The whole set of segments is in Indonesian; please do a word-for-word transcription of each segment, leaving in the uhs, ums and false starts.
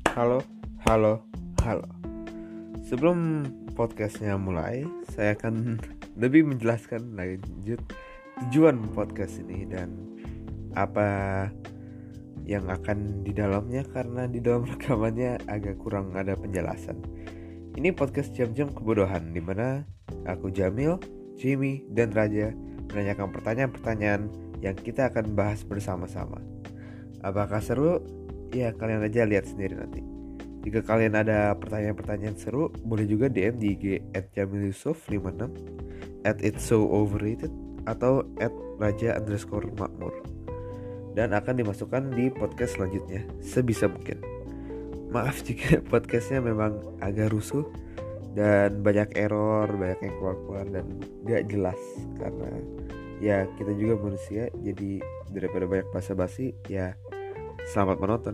Halo, halo, halo. Sebelum podcastnya mulai, saya akan lebih menjelaskan lanjut tujuan podcast ini dan apa yang akan di dalamnya, karena di dalam rekamannya agak kurang ada penjelasan. Ini podcast jam-jam kebodohan, dimana aku Jamil, Jimmy, dan Raja menanyakan pertanyaan-pertanyaan yang kita akan bahas bersama-sama. Apakah seru? Ya, kalian aja lihat sendiri nanti. Jika kalian ada pertanyaan-pertanyaan seru, boleh juga D M di I G at jamil yusuf lima enam, at it's so overrated, atau at raja underscore makmur. Dan akan dimasukkan di podcast selanjutnya sebisa mungkin. Maaf jika podcastnya memang agak rusuh dan banyak error, banyak yang keluar-keluar dan gak jelas. Karena ya kita juga manusia, jadi daripada banyak basa-basi, ya selamat menonton.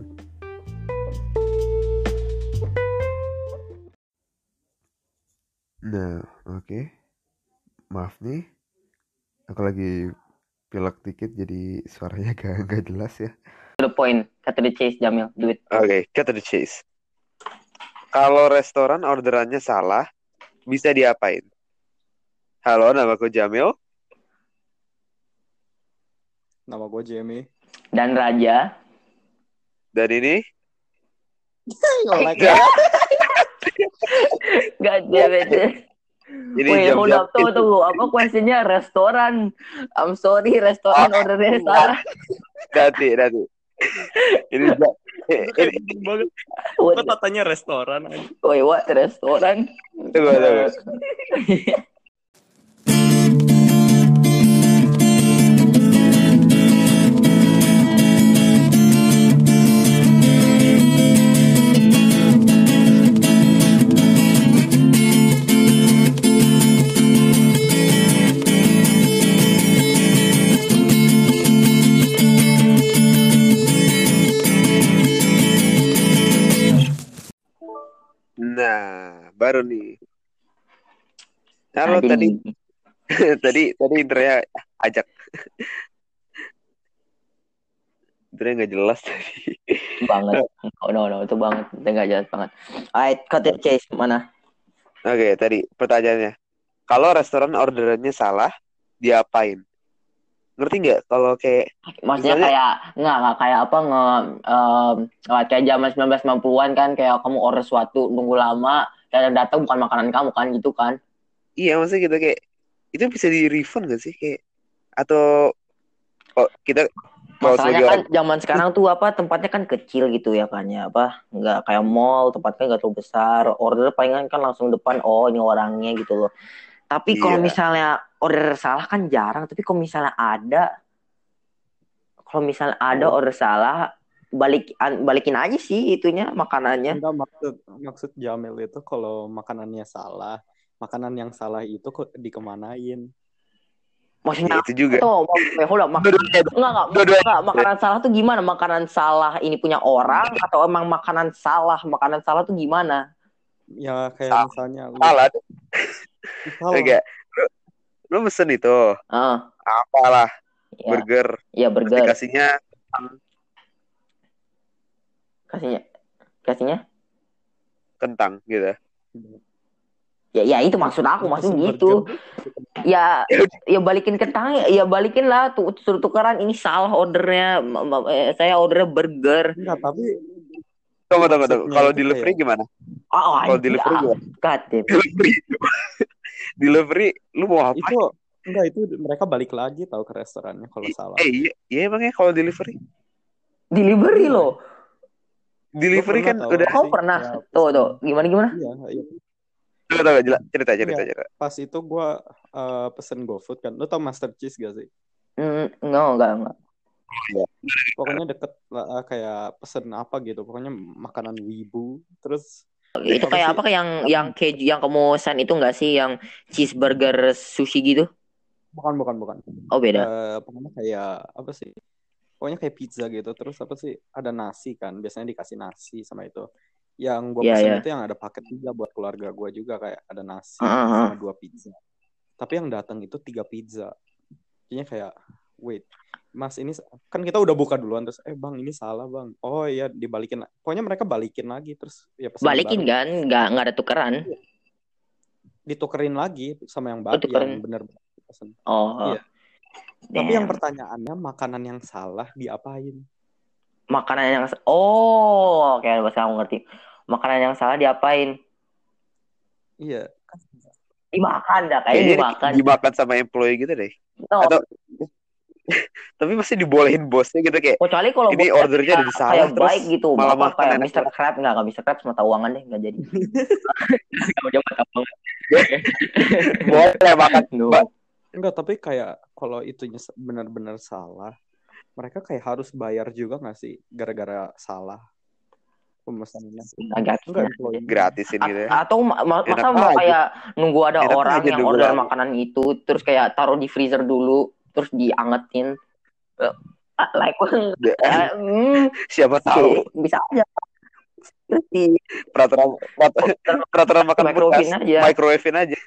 Nah, oke. Okay. Maaf nih, aku lagi pilek dikit jadi suaranya gak, gak jelas ya. To the point, cut to the chase, Jamil, do it. Oke, okay, cut to the chase. Kalau restoran orderannya salah, bisa diapain? Halo, namaku Jamil. Nama gue Jamie. Dan Raja. Dan ini Nge-lag ya. God damn it. Ini Wait, hold jam-jam up, tunggu, tunggu. Apa questionnya restoran? I'm sorry, restoran Oh, ordernya salah. Nanti, nanti. Ini ja- Itu kayak ini bingung banget. What? Gue tatanya restoran aja. Wait, what? Restoran? tunggu, tunggu. Nah, baru nih. Halo, Tadi. tadi tadi tadi intronya ajak. Intronya nggak jelas tadi. Banget. Oh, no, no, itu banget. Itu nggak jelas banget. Alright, cut to the chase. Mana? Oke, tadi pertanyaannya. Kalau restoran orderannya salah, diapain? Ngerti nggak? Kalau kayak Maksudnya misalnya, kayak nggak nggak kayak apa nge um, kayak zaman sembilan belas sembilan puluhan kan, kayak kamu order sesuatu nunggu lama dan datang bukan makanan kamu kan, gitu kan? iya maksudnya gitu kayak itu bisa di refund nggak sih kayak, atau oh, kita kalau Masalahnya sebagai kan orang zaman sekarang tuh apa, tempatnya kan kecil gitu ya kan ya, apa nggak kayak mall, tempatnya nggak terlalu besar, order palingan kan langsung depan, oh ini orangnya gitu loh. Tapi kalau iya misalnya order salah kan jarang, tapi kalau misalnya ada kalau misalnya ada Oh, order salah, balik balikin aja sih itunya, makanannya. enggak, maksud maksud Jamil itu kalau makanannya salah, makanan yang salah itu kok dikemanain? ya Maksudnya itu juga tuh, hold up, mak- dua-duanya enggak, enggak, dua-duanya enggak, makanan salah tuh gimana? Makanan salah ini punya orang atau emang makanan salah? Makanan salah tuh gimana? Ya kayak salah misalnya lu salah salah. enggak lu, lu mesen itu Ah, apalah ya, burger ya terus burger. dikasihnya Kasihnya, kasihnya. kentang gitu. Ya, ya itu maksud aku, Lu maksud pesen gitu. burger, Ya, ya balikin kentang, ya balikin lah, tuh suruh tukeran, ini salah ordernya, Ma- ma- eh, saya ordernya burger. enggak, tapi Tunggu tunggu tunggu. maksudnya Kalau itu delivery kayak gimana? Ah, Kalau anjir, delivery ah, gimana? katin. Delivery delivery lu mau apa? itu enggak, itu mereka balik lagi tahu ke restorannya kalau salah. Eh iya, iya emangnya kalau delivery Delivery Iya. loh. delivery Gua kan pernah tahu udah apa Kau sih, pernah? kayak Tuh, pesen- tuh, gimana gimana? Iya, iya. tunggu tunggu jelas cerita cerita Iya. cerita. Pas itu gue uh, pesen GoFood kan. Lo tau Master Cheese gak sih? Hmm, enggak, enggak, enggak. Pokoknya deket lah, uh, kayak pesen apa gitu. Pokoknya makanan wibu. Terus Itu apa kayak sih? apa, kayak yang yang keju yang kamu pesan itu enggak sih, yang cheeseburger sushi gitu? Bukan, bukan, bukan. Oh, beda. Uh, pokoknya kayak apa sih? Pokoknya kayak pizza gitu. Terus apa sih? Ada nasi kan. Biasanya dikasih nasi sama itu. Yang gue Iya, pesen iya. itu yang ada paket tiga buat keluarga gue juga. Kayak ada nasi Ah, ah, sama ah. dua pizza. Tapi yang datang itu tiga pizza. Jadinya kayak, wait, Mas ini kan kita udah buka duluan terus eh bang ini salah bang. Oh iya dibalikin. Pokoknya mereka balikin lagi terus ya pesan Balikin baru. kan, nggak nggak ada tukeran. Ditukerin lagi sama yang Oh, baru tukerin. yang benar-benar pesan. Oh. Iya. Tapi yang damn. pertanyaannya makanan yang salah diapain? Makanan yang oh, oke, bahasa aku ngerti. Makanan yang salah diapain? Iya. Dimakan dah, kayaknya Kayaknya dimakan. dimakan sama employee gitu deh. No. Atau tapi pasti dibolehin bosnya gitu kayak Kecuali kalau ini bosnya ordernya kayak, udah salah kayak terus baik gitu, malah apa makan kayak enak mister Crab nggak, nggak mister Crab mata uangan deh nggak jadi. Kamu coba tahu. boleh makan. No. Mbak. Enggak, tapi kayak kalau itunya benar-benar salah, mereka kayak harus bayar juga nggak sih gara-gara salah pemesanannya? Agak Enggak, employee. Gratisin gitu ya. A- atau ma- ma- Enak masa mau aja. kayak nunggu ada Enak orang aja yang nunggu order lama. makanan itu terus kayak taruh di freezer dulu terus diangetin. Uh, like uh, mm, Siapa tahu bisa aja. Terus di peraturan peraturan, peraturan makan Microwave bekas aja. microwave-in aja.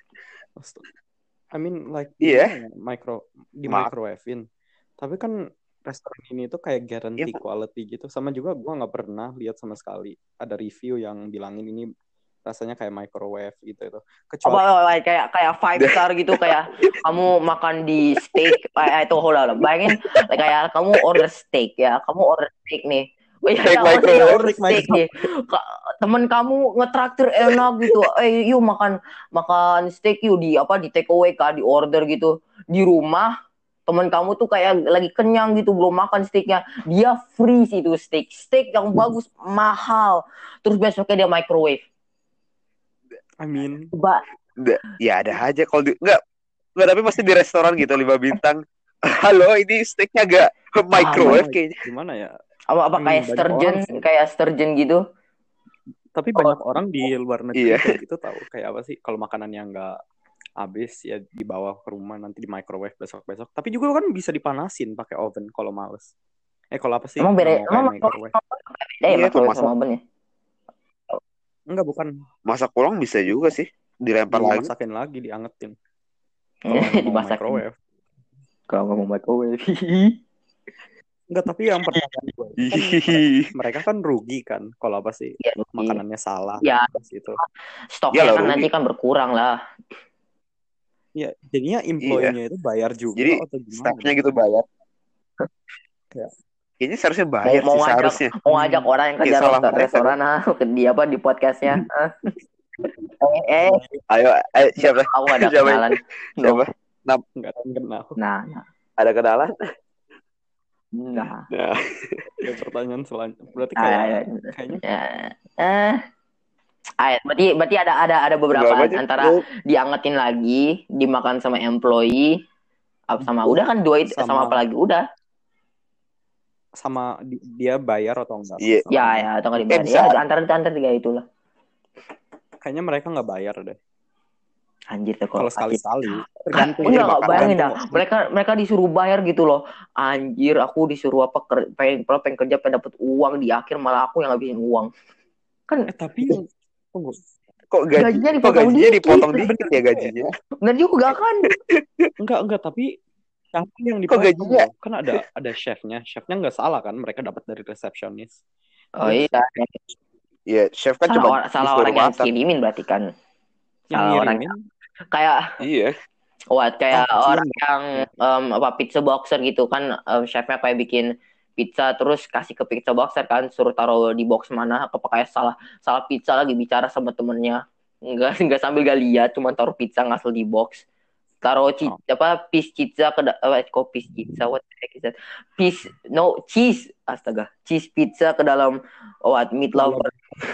I mean like Iya. gimana ya, micro di Maaf. microwave-in. Tapi kan restoran ini tuh kayak guarantee Iya. quality gitu. Sama juga gua nggak pernah lihat sama sekali ada review yang bilangin ini rasanya kayak microwave gitu itu. Kecuali apa like, kayak kayak five star gitu kayak kamu makan di steak kayak itu hola bayangin like, kayak kamu order steak ya kamu order steak nih oh iya Steak ya, microwave. ya order steak nih Ka- temen kamu ngetraktir enak gitu eh yuk makan makan steak yuk di apa di take away kah di order gitu di rumah temen kamu tuh kayak lagi kenyang gitu belum makan steaknya dia free sih itu steak steak yang bagus mahal terus besoknya dia microwave. I mean Ba- Ya ada aja kalau di enggak enggak tapi pasti di restoran gitu lima bintang. Halo, ini steaknya agak microwave gimana, kayaknya. gimana ya? apa apa Hmm, kayak banyak sturgeon orang sih. kayak sturgeon gitu. Tapi banyak orang di luar negeri Iya. kayak gitu tahu kayak apa sih kalau makanan yang nggak habis ya dibawa ke rumah nanti di microwave besok-besok. Tapi juga kan bisa dipanasin pakai oven kalau males. Eh kalau apa sih? Emang beda Nggak mau emang kayak microwave. beda ya Iya, microwave masak. sama oven ya. Enggak, bukan. Masak ulang bisa juga sih, dilempar lagi. Dimasakin lagi, diangetin. Kalau nggak mau Dimasakin. microwave. Kalau nggak mau microwave. Enggak, tapi yang pertanyaan gue kan Hihihi. mereka kan rugi kan kalau apa sih Ya, rugi. makanannya salah Ya. gitu. Stoknya Iyalah, kan rugi. nanti kan berkurang lah. Iya, jadinya employee-nya itu bayar juga Jadi atau gimana? staffnya gitu bayar. Ya. Kayaknya seharusnya bayar mau sih ngajak seharusnya. mau ngajak orang yang kerja Kayak salah restoran, mereka, restoran ah ke dia apa di podcastnya. Ah. eh, eh Ayo, ayo siapa? aku nggak ada Siapa? kenalan. Siapa? Enggak ada yang kenal. Nah, nah, Ada kenalan? nah. Nah, Ya, pertanyaan selanjutnya. Berarti Ah, kayak ya, kayaknya ya. Eh, ah, berarti berarti ada ada ada beberapa berapa aja? antara Oh, diangetin lagi, dimakan sama employee, apa sama udah kan dua itu sama, Sama- apa lagi udah. sama di- dia bayar atau enggak? Iya. Ya ya atau nggak dibayar. Eh, bisa. Ya antara antara tiga itulah. Kayaknya mereka nggak bayar deh. Anjir tuh Kalau kalau sekali-sekali. Ah, Tergantung. enggak, Iya, enggak, makan. bayangin dah. Tergantung. Mereka mereka disuruh bayar gitu loh. Anjir, aku disuruh apa ker- pengen pengen kerja pengen dapat uang di akhir malah aku yang ngabisin uang. Kan Eh tapi yang tunggu. kok gaji, Gajinya kok dipotong gajinya dikit. dipotong Bener dikit ya juga gajinya? benar juga kan? Enggak enggak tapi siapa yang Kok dipotong? gajinya? loh? Kan ada ada chefnya. Chefnya nggak salah kan? Mereka dapat dari resepsionis. Oh iya. Iya, chef kan Salah, cuma or- salah disuruh orang yang masak. kirimin berarti kan. Yang Salah orang ngirimin kayak Iya. what kayak Oh, orang yang um, apa pizza boxer gitu kan um, chefnya kayak bikin pizza terus kasih ke pizza boxer kan suruh taruh di box mana apa kayak salah salah pizza lagi bicara sama temennya enggak enggak sambil gak lihat cuma taruh pizza ngasal di box taruh ci- Oh. apa piece pizza ke da- eh, kok piece pizza what the heck is that piece no cheese astaga cheese pizza ke dalam what meat lover.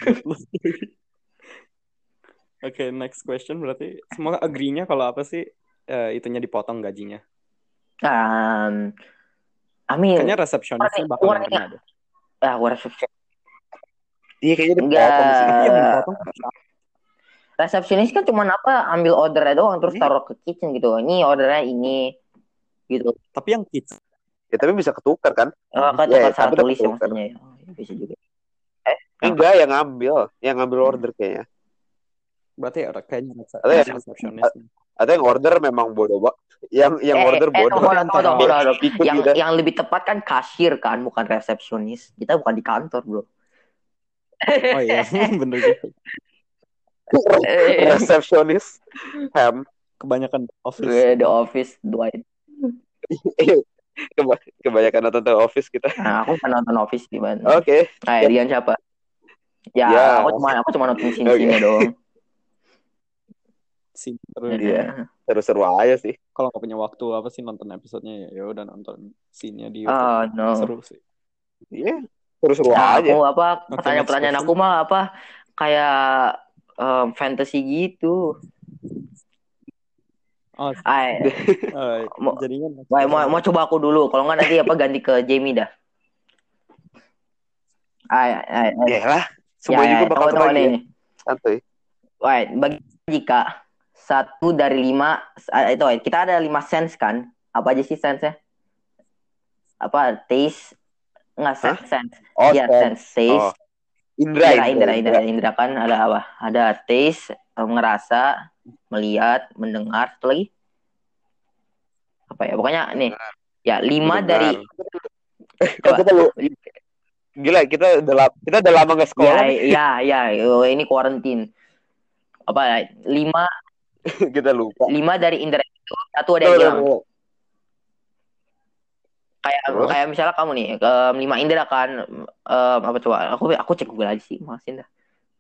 Oke, next question berarti semua agree-nya kalau apa sih eh, itunya dipotong gajinya? um, I mean Kayaknya resepsionisnya bakal warna- kena deh. ah what resepsionis Iya kayaknya enggak dipotong sih. Tapi yang dipotong resepsionis kan cuma apa ambil ordernya doang terus Ini- taruh ke kitchen gitu ini ordernya ini gitu tapi yang kids Ya tapi bisa ketukar kan? oh, kan Ya, tukar salah tapi udah tulis ya ketukar. maksudnya ya. Oh, ya bisa juga Enggak, yang ngambil, yang ngambil order kayaknya. berarti ada kayaknya rese- Atau ya- resepsionis. Atau yang order memang bodoh, Pak. Yang yang Eh, order eh, bodoh. tunggu, tunggu, tunggu, tunggu, tunggu. Ikut Yang kita. yang lebih tepat kan kasir kan, bukan resepsionis. Kita bukan di kantor, bro. Oh iya, bener gitu. Eh, Resepsionis. Ham. Kebanyakan office. eh, The Office, Dwight. Keba- kebanyakan nonton The Office kita. Nah, aku kan nonton Office di mana? Oke. Eh, Rian siapa? Ya, Ya. aku cuma aku cuma nonton scene-scene-nya doang. Sih, seru. Iya. Seru-seru aja sih. Kalau nggak punya waktu apa sih nonton episodenya, ya udah nonton scene-nya di YouTube. Ah, no. Seru sih. Iya, seru-seru Nah, aja. aku apa Oke, pertanyaan-pertanyaan next aku mah apa kayak um, fantasy gitu. Oh, Ay, eh, mau, jadinya mau, mau, mau coba aku dulu. Kalau nggak nanti apa ganti ke Jamie dah. Ay, ay, ay. Ya lah, semua Ya, juga ya, bakal tunggu, tunggu kebagi ya. nih. Santuy. Wait, bagi jika satu dari lima ah, itu wait, kita ada lima sense kan? Apa aja sih sense-nya? Apa taste? Nggak sense, sense. Oh, Ya sense, taste. Oh. Indra, Indra, indra, indra, indra kan ada apa? Ada taste, eh, ngerasa, melihat, mendengar, satu lagi apa ya? Pokoknya nih, ya lima Mendengar. dari Kok kita lu gila, kita udah lama, kita udah lama nggak sekolah. ya, ya, ya, oh, ini quarantine. Apa ya? Lima, Kita lupa. lima dari indra itu satu ada Tuh, yang tuh, hilang. tuh. Kayak Terus? kayak misalnya kamu nih, ke lima indra kan, em, apa coba? Aku aku cek Google aja sih, masin dah.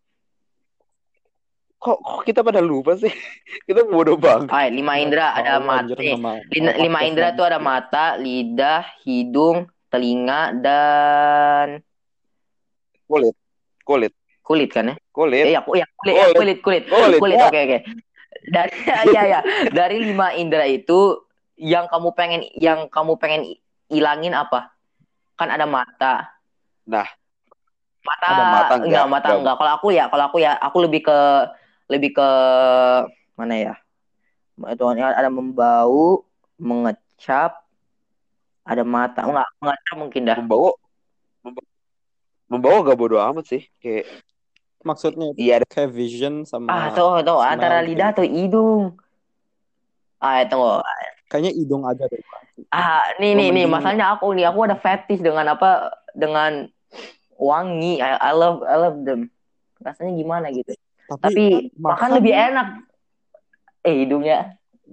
Kok, kok kita pada lupa sih? Kita bodoh banget. Ah, lima indra ada Tahu, mata. anjir, nih, nama- lima, nama lima podcast indra lagi. tuh ada mata, lidah, hidung, telinga, dan Kulit, kulit, kulit kan ya? kulit. Eh, ya, ya kulit, ya, Kulit. kulit, kulit, Kulit, kulit. ya. Oke, oke. Dari ya, ya, dari lima indra itu yang kamu pengen, yang kamu pengen ilangin apa? Kan ada mata. Nah, Mata, ada mata enggak? enggak, mata Enggak. enggak. Kalau aku ya, kalau aku ya, aku lebih ke, lebih ke mana ya? Itu ada membau, mengecap, ada mata, enggak, mengecap mungkin dah. Membawa, membawa, membawa gak bodoh amat sih. Kayak, Maksudnya itu iya, ada- kayak vision sama Ah, tuh, tuh, smell antara gitu. lidah atau hidung. Ah, tunggu. Kayaknya hidung aja deh. Ah, nih, Gua nih, nih, mending- masalahnya aku nih, aku ada fetish dengan apa? Dengan wangi. I, I love, I love them. Rasanya gimana gitu? Tapi, Tapi makan lebih enak. Eh, hidungnya.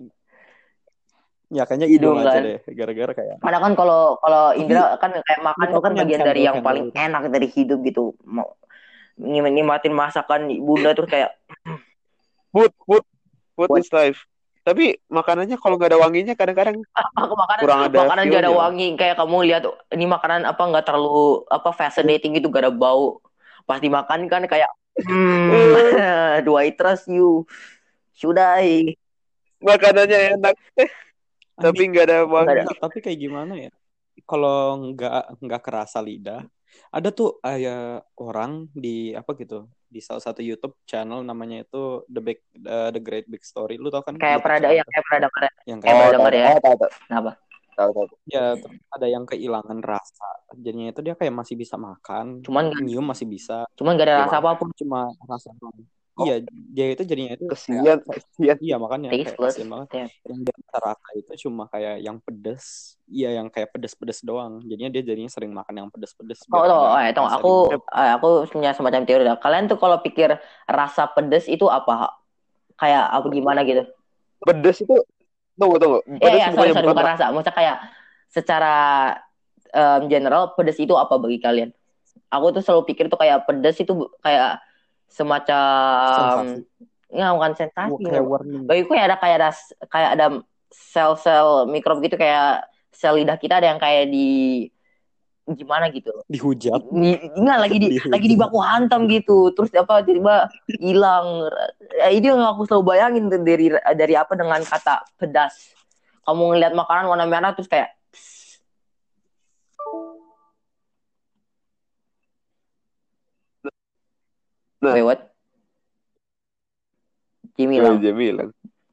Ya kayaknya hidung, Hidung, aja kan? deh. Gara-gara kayak Padahal kan kalau kalau Indra kan kayak makan Lu itu tau kan kan yang bagian dari yang candle-candle paling itu? enak dari hidup gitu. Mau nikmatin masakan bunda terus kayak food, food, food What? is life. Tapi makanannya kalau nggak ada wanginya kadang-kadang aku makanan kurang ada makanan gak ada feel-nya. wangi, kayak kamu lihat ini makanan apa nggak terlalu apa fascinating gitu, gak ada bau, pas dimakan kan kayak hmm, do I trust you, should I? Makanannya enak, tapi nggak ada wangi. Nggak ada. Enggak, tapi kayak gimana ya? Kalau nggak nggak kerasa lidah, ada tuh kayak orang di apa gitu di salah satu YouTube channel namanya itu The Big uh, The Great Big Story. Lu tau kan? Kayak YouTube pernah ada channel yang kayak pernah dengar ya? yang Kayak kayak pernah denger ya? tahu, tahu, tahu. Kenapa? Tahu, tahu. ya terus ada yang kehilangan rasa. Jadinya itu dia kayak masih bisa makan, Cuman nyium masih bisa, cuman gak ada rasa Gimana? apapun, cuma rasa doang. Oh. Iya, dia itu jadinya itu Kesian, kayak- kesian. iya makanya kayak tasteless. kasian banget. Ya. Yang dia bisa rasa itu cuma kayak yang pedes, iya yang kayak pedes-pedes doang. Jadinya dia jadinya sering makan yang pedes-pedes. Oh, biar oh, ada oh, eh, tunggu, rasa aku di mulut. eh, aku punya semacam teori dah. Kalian tuh kalau pikir rasa pedes itu apa? Kayak apa gimana gitu? Pedes itu, tunggu, tunggu. Eh, Pedes ya, sorry, bukannya sorry, bukan bukan rasa. Maksudnya kayak secara em, general pedes itu apa bagi kalian? Aku tuh selalu pikir tuh kayak pedes itu bu- kayak semacam Sensasi. nggak bukan sensasi. Wah, kayak warning. Bagiku kayak ada kayak ada kayak ada sel-sel mikrob gitu, kayak sel lidah kita ada yang kayak di gimana gitu. Dihujat. Di, enggak lagi di Dihujat. lagi dibaku hantam gitu, terus apa tiba-tiba hilang. Eh, itu yang aku selalu bayangin tuh dari dari apa dengan kata pedas. Kamu ngeliat makanan warna merah terus kayak Nah. wait, what? Jimmy Kayak lang. dia bilang.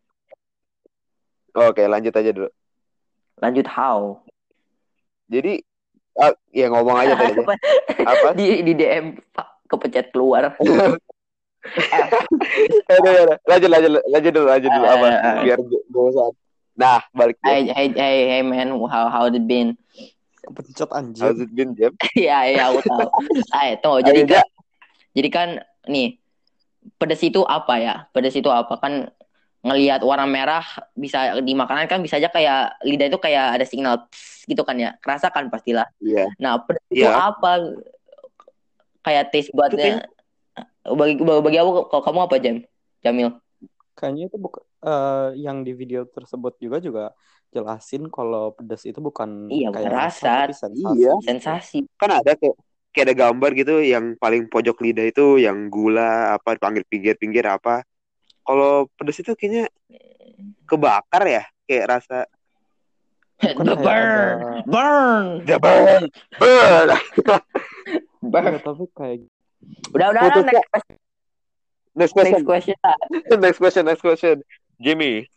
Oke, lanjut aja dulu. Lanjut how? Jadi, ah, ya ngomong aja tadi. Apa? di di D M Pak kepencet keluar. Eh, Aduh, aduh. Lanjut, lanjut, lanjut dulu, lanjut dulu apa? eh, Biar gue bosan. Nah, balik ya. hey, hey, hey, hey man, how how it been? Kepencet anjir. How's it been, Jeb? Iya, iya aku tahu. Ayo, tunggu. Ayo, Jadi kan, Ja. jadi kan nih, pedas itu apa ya? Pedas itu apa kan? Ngelihat warna merah bisa di makanan kan bisa aja kayak lidah itu kayak ada signal pss, gitu kan ya. Kerasa kan pastilah. Iya. Nah, pedas itu Iya. apa? Kayak taste Itu buatnya. Bagi bagi aku kalau kamu apa Jam? Jamil? Kayaknya itu bukan uh, yang di video tersebut juga juga jelasin kalau pedas itu bukan Iya, bukan kayak rasa, tapi sensasi. Iya. gitu. Sensasi. Kan ada kayak kayak ada gambar gitu yang paling pojok lidah itu yang gula apa dipanggil pinggir-pinggir apa. Kalau pedas itu kayaknya kebakar ya, kayak rasa Bukan The kayak burn, ada burn, jabar. Ber. burn. Iya, tapi kayak Udah, udah, udah. Putusnya. Next, Next question. next question. Next question, next question. Jimmy.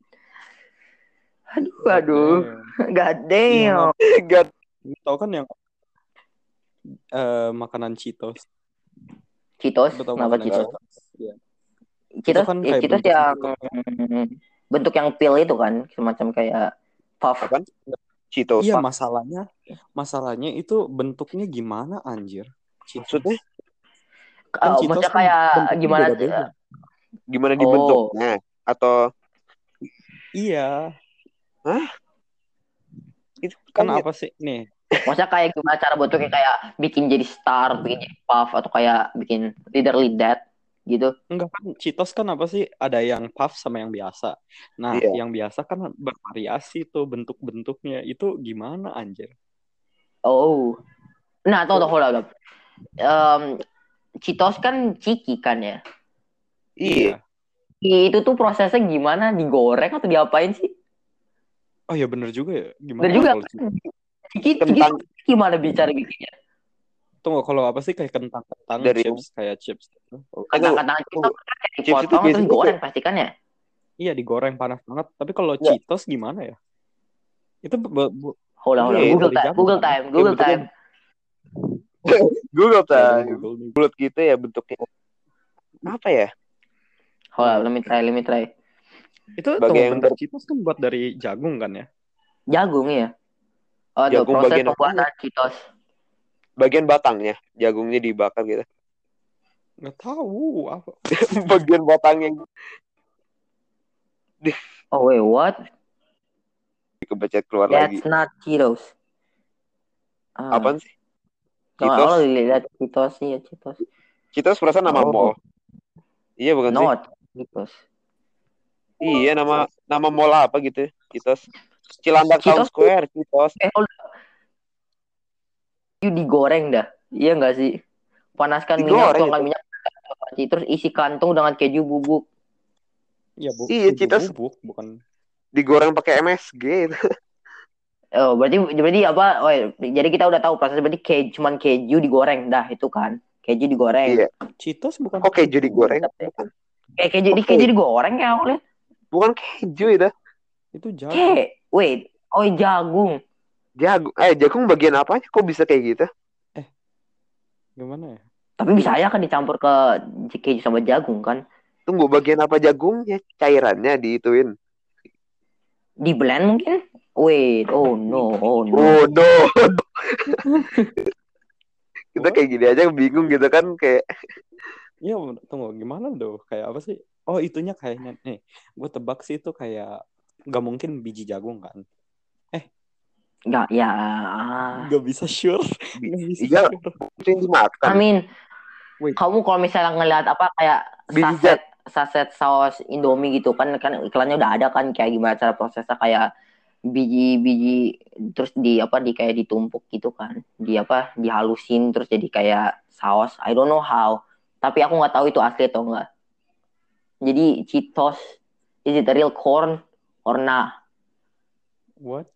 Aduh, aduh. God damn. God. Tahu kan yang uh, makanan Cheetos. Cheetos, Lu tahu kenapa makanan Cheetos? Iya. Cheetos, kan ya, kayak Cheetos bentuk yang gitu. bentuk yang pil itu kan, semacam kayak puff. Apaan? Cheetos. Iya, masalahnya masalahnya itu bentuknya gimana anjir? Cheetos. Maksudnya? Kan Oh, Cheetos maksudnya kan kayak bentuknya gimana? beda-beda. Gimana Oh. dibentuknya? Atau Iya. Hah? Itu Kan kan apa sih nih? Maksudnya kayak gimana cara bentuknya, kayak bikin jadi star, bikin jadi puff, atau kayak bikin literally that gitu. Enggak, kan Cheetos kan apa sih? Ada yang puff sama yang biasa. Nah, Iya. yang biasa kan bervariasi tuh bentuk-bentuknya. Itu gimana anjir? Oh. Nah, tunggu, tunggu, hold up. Um, Cheetos kan ciki kan ya? Iya. Itu tuh prosesnya gimana? Digoreng atau diapain sih? Oh ya bener juga ya. Gimana Bener juga. kalau Cheetos? Ciki, ciki Kentang. gimana bicara bikinnya? Tunggu, kalau apa sih kayak kentang-kentang Dari- chips kayak chips. Oh, Kentang-kentang itu Tunggu. kan kayak Chips itu dipotong terus biasanya digoreng pasti kan ya? iya, digoreng panas banget. Tapi kalau Iya. Cheetos gimana ya? Itu bu- bu- Hold on, hold on. Iya, Google dari time, jagung Google kan ya? time, Google bentuknya- time. Google Ya, time. Google nih. Bulat gitu ya bentuknya. Apa ya? Hold on, let me try, let me try. Itu Bagi tunggu yang bentar, ber- Cheetos kan buat dari jagung kan ya? Jagung ya? Oh, tuh, Jagung proses bagian pembuatan Cheetos. Bagian batangnya, jagungnya dibakar gitu. Nggak tahu apa. Bagian batangnya Oh wait, what? kebecet keluar That's lagi. not Cheetos. Ah, Apaan sih? Cheetos? Cheetos. Oh, lihat Cheetos iya Cheetos. Cheetos perasaan nama Oh. mall. Iya bukan sih? Not Cheetos. Iya nama nama mall apa gitu? Cheetos. Cilandak Town Cheetos. Square, Cheetos. Eh, hold on. Itu digoreng dah. Iya nggak sih? Panaskan minyak, Digoreng tuangkan itu. minyak, terus isi kantung dengan keju bubuk. Iya, bu, Iya, keju Cheetos. bubuk, bukan. Digoreng pakai M S G itu. Oh, berarti berarti apa? Oh, jadi kita udah tahu proses, berarti keju, cuman keju digoreng dah itu kan. Keju digoreng. Iya. Cheetos bukan. Kok keju digoreng? Bukan. Kayak keju, di Oke. keju digoreng kayak aku lihat. Bukan keju itu. Itu jagung. Kayak, wait, oh jagung. Jagung. Eh, jagung bagian apanya? Kok bisa kayak gitu? Gimana ya? Tapi bisa aja kan dicampur ke keju sama jagung kan. Tunggu, bagian apa jagungnya? Cairannya diituin. Di blend mungkin? Wait, oh no, oh no. Oh no. Kita kayak gini aja bingung gitu kan, kayak Iya, tunggu, gimana tuh? Kayak apa sih? Oh, itunya kayaknya nih. Gue tebak sih itu kayak nggak mungkin biji jagung kan? Nggak, ya. Nggak bisa sure. Nggak bisa Iya. sure. itu yang dimakan. I mean, Wait. kamu kalau misalnya ngelihat apa kayak Biji saset saset saus Indomie gitu kan, kan iklannya udah ada kan kayak gimana cara prosesnya, kayak biji-biji terus di apa di kayak ditumpuk gitu kan, di apa dihalusin terus jadi kayak saus. I don't know how, tapi aku nggak tahu itu asli atau enggak. Jadi Cheetos, is it a real corn or nah? What?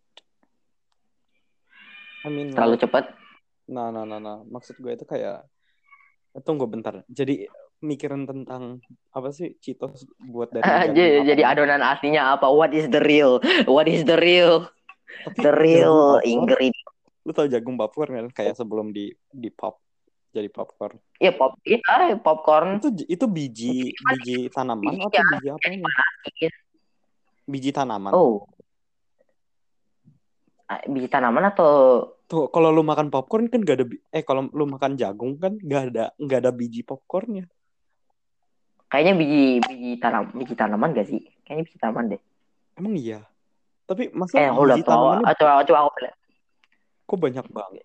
I mean, Terlalu like, cepat. nah, nah, nah, nah. Maksud gue itu kayak, tunggu bentar. Jadi mikirin tentang apa sih Cheetos buat dari jagung jadi, apa jadi ya? adonan aslinya apa? What is the real? What is the real? Tapi The jagung real bubur, ingredient. lu tau jagung bubur kan? Kayak sebelum di di pop. jadi popcorn. Iya pop, iya popcorn. Itu itu biji biji tanaman atau Iya, biji apa ini? Biji tanaman. Oh, ah, biji tanaman atau Tuh kalau lu makan popcorn kan gak ada bi- eh kalau lu makan jagung kan gak ada nggak ada biji popcornnya. kayaknya biji biji tanam biji tanaman gak sih? Kayaknya biji tanaman deh. Emang iya. Tapi masa Eh, hold up, biji coba tanamannya coba coba aku lihat. kok banyak banget,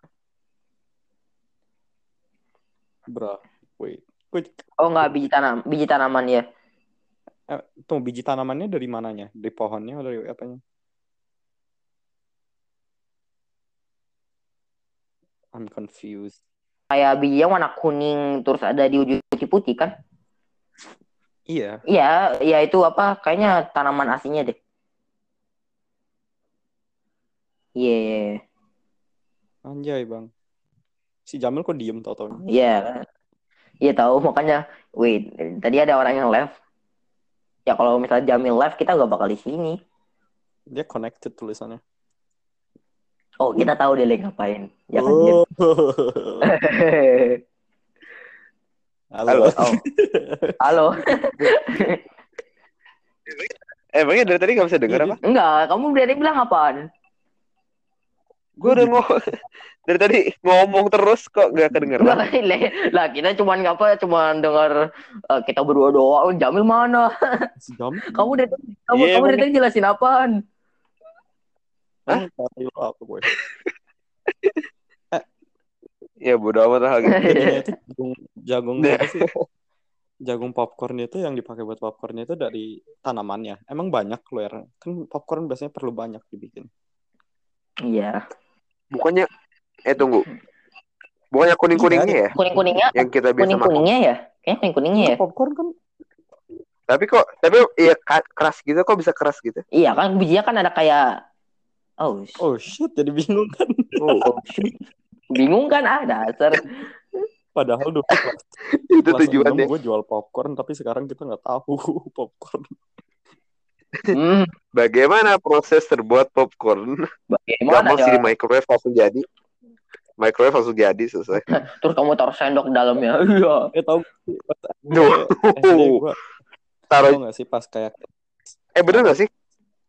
bro? Wait, wait. Oh enggak, biji tanam, biji tanaman ya. Eh, tuh biji tanamannya dari mananya? Dari pohonnya atau dari apanya? I'm confused. Kayak biji yang warna kuning terus ada di ujung putih-putih kan? Iya. Iya, iya itu apa? Kayaknya tanaman aslinya deh. Iya, yeah. Anjay bang. Si Jamil kok diem tau-tau? Iya, yeah. Iya tahu makanya. Wait, tadi ada orang yang live. Ya kalau misalnya Jamil live kita gak bakal di sini. Dia connected tulisannya. Oh kita tahu dia lagi ngapain. Ya kan? Oh. Halo. Oh. Halo. Eh, emangnya dari tadi gak bisa dengar apa? Enggak, kamu berani bilang apaan? Gue udah ngomong dari tadi ngomong terus kok gak kedengeran. Enggak, lah kita cuman apa? Cuman dengar uh, kita berdua doang. Jamil mana? Si Jamil. Kamu dari kamu Yeah, kamu dari tadi jelasin apaan? Hah? Apa gue? Ya bodo amat lah gitu. Jadinya itu jagung, jagung apa sih? Jagung popcorn itu yang dipakai buat popcorn itu dari tanamannya. Emang banyak loh ya. Kan popcorn biasanya perlu banyak dibikin. Iya. Bukannya eh tunggu. Bukannya kuning-kuningnya ya? Kuning-kuningnya. Yang kita biasa makan. Kuning-kuningnya ya? Kayaknya kuning-kuningnya ya. Popcorn kan. Tapi kok tapi iya keras gitu kok bisa keras gitu? Iya kan bijinya kan ada kayak oh, Oh shit, jadi bingung kan. Oh, oh shit. Bingung kan ah dasar. Padahal dulu kelas, itu kelas tujuannya. enam gue jual popcorn, tapi sekarang kita nggak tahu popcorn. Hmm, Bagaimana proses terbuat popcorn? bagaimana Gampang sih ya? di microwave langsung jadi. Microwave langsung jadi selesai. Terus kamu taruh sendok di dalamnya. Iya. Eh tahu Duh. S D gue Taruh. tahu nggak sih pas kayak Eh bener nggak sih?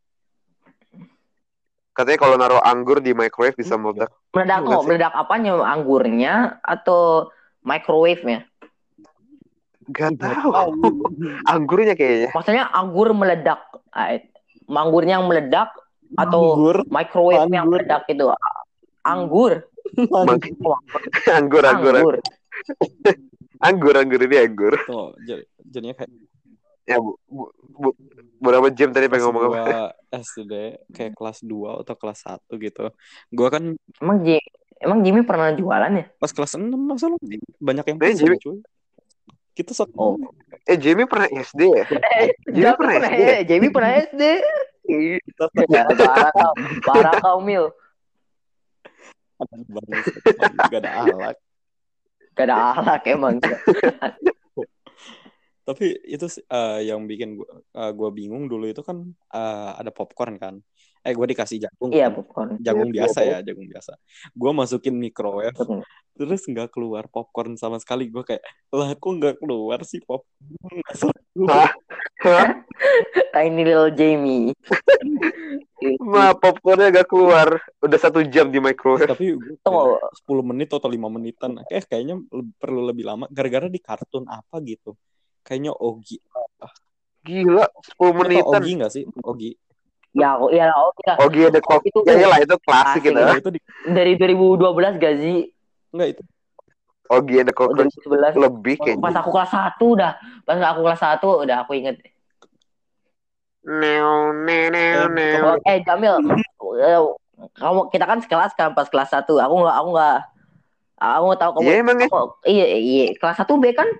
Katanya kalau naruh anggur di microwave bisa meledak. Meledak Nggak oh, sih? meledak apanya? Anggurnya atau microwave-nya? Gak tahu. Anggurnya kayaknya. Maksudnya anggur meledak. Ah, Anggurnya yang meledak atau anggur, microwave yang anggur. meledak itu? Anggur. Mang- anggur, anggur, Anggur. anggur, anggur ini anggur. Tuh, jadi jadinya kayak Ya bu, bu, bu berapa jam tadi pas pengen ngomong apa? gue S D kayak kelas dua atau kelas satu gitu. Gue kan Emang Jimmy, emang Jimmy pernah jualan ya? pas kelas enam masa lu banyak yang Eh, pesen Jimmy- cuy. Kita satu. Oh. Eh Jamie pernah S D ya? Eh, Jamie Jamie pernah pernah S D ya? eh, Jamie pernah S D. Kita Ya, parah kau, parah kau Mil. Gak ada alat. Gak ada alak emang. Tapi itu uh, yang bikin gue uh, gua bingung dulu itu kan uh, ada popcorn kan. Eh gue dikasih jagung. Iya kan? popcorn. Jagung Iya, biasa ya, jagung biasa. Gue masukin microwave, Popcorn. terus nggak keluar popcorn sama sekali. Gue kayak, lah kok nggak keluar sih popcorn? Hah? Hah? Tiny little Jamie. Ma popcornnya gak keluar. Udah satu jam di microwave. Tapi gue Tunggu. sepuluh menit atau lima menitan. Eh kayaknya le- perlu lebih lama. Gara-gara di kartun apa gitu. Kayaknya Ogi. Gila, sepuluh Lo tau menitan. Ogi nggak sih? Ogi. Ya, oh, iya, oh, iya. Oh iya, The Clock. Itu- Ya iyalah, itu klasik Klasik gitu. Nah, itu di, Dari dua ribu dua belas gak sih? enggak itu. Oh iya, The Oh, Clock. dua ribu sebelas. Lebih Pas kayaknya. aku kelas satu udah. Pas aku kelas satu udah aku inget. Neo, neo, neo, neo. Oh, eh Jamil, eh, kamu kita kan sekelas kan pas kelas satu. Aku nggak, aku nggak, aku nggak tahu kamu. Iya emang ya? kamu- iya, iya, kelas satu B kan?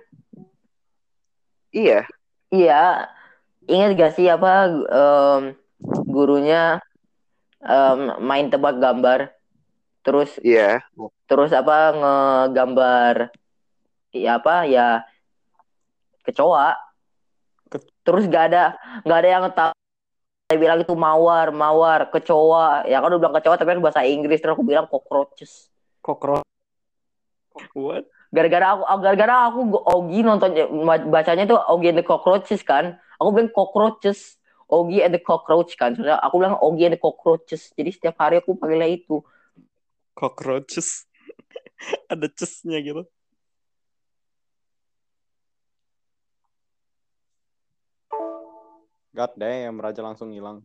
Iya. Iya. Ingat gak sih apa em, gurunya em, main tebak gambar, terus Iya. terus apa ngegambar, ya apa ya kecoa. Ke- Terus gak ada nggak ada yang tahu. Saya bilang itu mawar, mawar, kecoa. Ya kan udah bilang kecoa tapi kan bahasa Inggris, terus aku bilang cockroaches. Cockroach. What? Gara-gara aku gara-gara aku Ogi nonton bacanya tuh Ogi and the Cockroaches kan. Aku bilang cockroaches. Ogi and the Cockroach kan. Soalnya aku bilang Ogi and the Cockroaches. Jadi setiap hari aku panggilnya itu. Cockroaches. Ada cesnya gitu. God damn, Raja langsung hilang.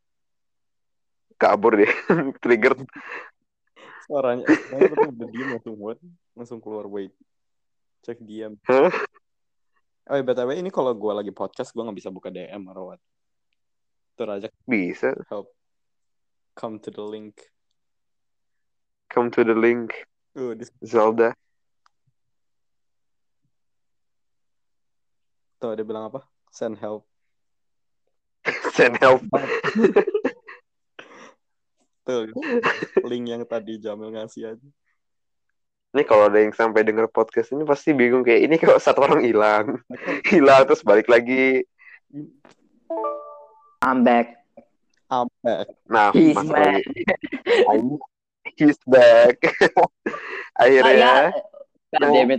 Kabur deh. Trigger. Suaranya, suaranya tapi udah diem langsung what? Langsung keluar, wait. Cek diam. Huh? Oh, ya, B T W ini kalau gue lagi podcast, gue gak bisa buka D M atau what. Itu Raja. Bisa. Help. Come to the link. Come to the link. Uh, this... Zelda. Tuh, dia bilang apa? Send help. Send help. Tuh, link yang tadi Jamil ngasih aja. Ini kalau ada yang sampai denger podcast ini pasti bingung kayak ini kok satu orang hilang. Hilang terus balik lagi. I'm back. I'm back. Nah, He's masuk back. lagi. I'm, he's back. Akhirnya. God damn it.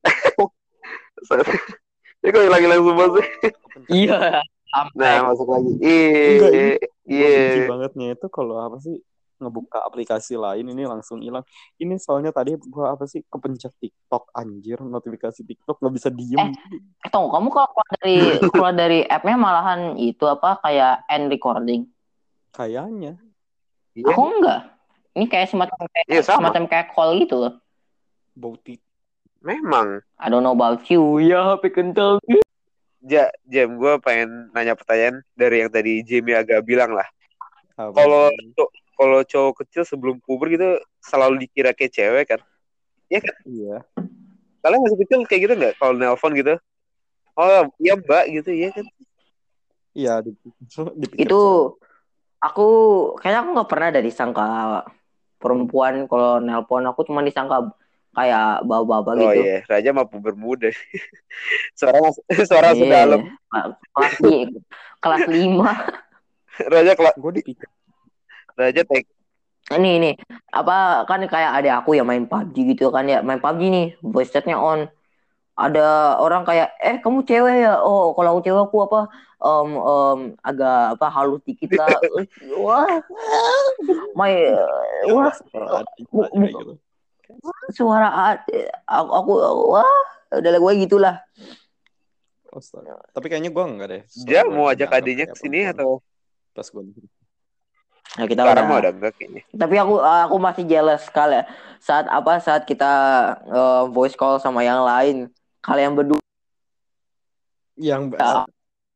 Ini kok hilang-hilang semua sih? Iya. Nah, masuk lagi. Iya. Gue benci bangetnya itu kalau apa sih ngebuka aplikasi lain ini langsung hilang. Ini soalnya tadi gue apa sih kepencet TikTok anjir, notifikasi TikTok nggak bisa diem. Eh, tunggu, kamu kalau keluar dari keluar dari app-nya malahan itu apa kayak end recording? Kayaknya. Iya. Aku enggak. Ini kayak semacam kayak, Iya, sama. semacam kayak call gitu loh. Bauti. Memang. I don't know about you. Ya, H P kental. Ja, Jam, gue pengen nanya pertanyaan dari yang tadi Jamie agak bilang lah. Apa Kalau sih? kalau cowok kecil sebelum puber gitu selalu dikira kayak cewek kan? Iya kan? Iya. Kalian masih kecil kayak gitu nggak? Kalau nelpon gitu? Oh, iya mbak gitu ya kan? Iya. Dipikir Itu aku kayaknya aku nggak pernah dari disangka perempuan kalau nelpon. Aku cuma disangka kayak bapak-bapak Oh gitu. iya, Raja mah puber muda. suara suara Yeah. sedalam. Kelas di, kelas lima. Raja kelas. Gue dipikir. Raja tek. Ini ini apa kan kayak ada aku yang main P U B G gitu kan ya, main P U B G nih, voice chatnya on. Ada orang kayak eh kamu cewek ya? Oh kalau aku cewek aku apa um, um, agak apa halus dikit lah. Wah, my wah Gitu. suara aku, aku wah udah gue gitulah. Astaga. Tapi kayaknya gue enggak deh. Ja mau ajak adiknya ke sini atau pas gue. Nah, kita sekarang udah, mau ada enggak kayaknya. Tapi aku aku masih jealous sekali ya. Saat apa saat kita uh, voice call sama yang lain, kalian berdua yang ya.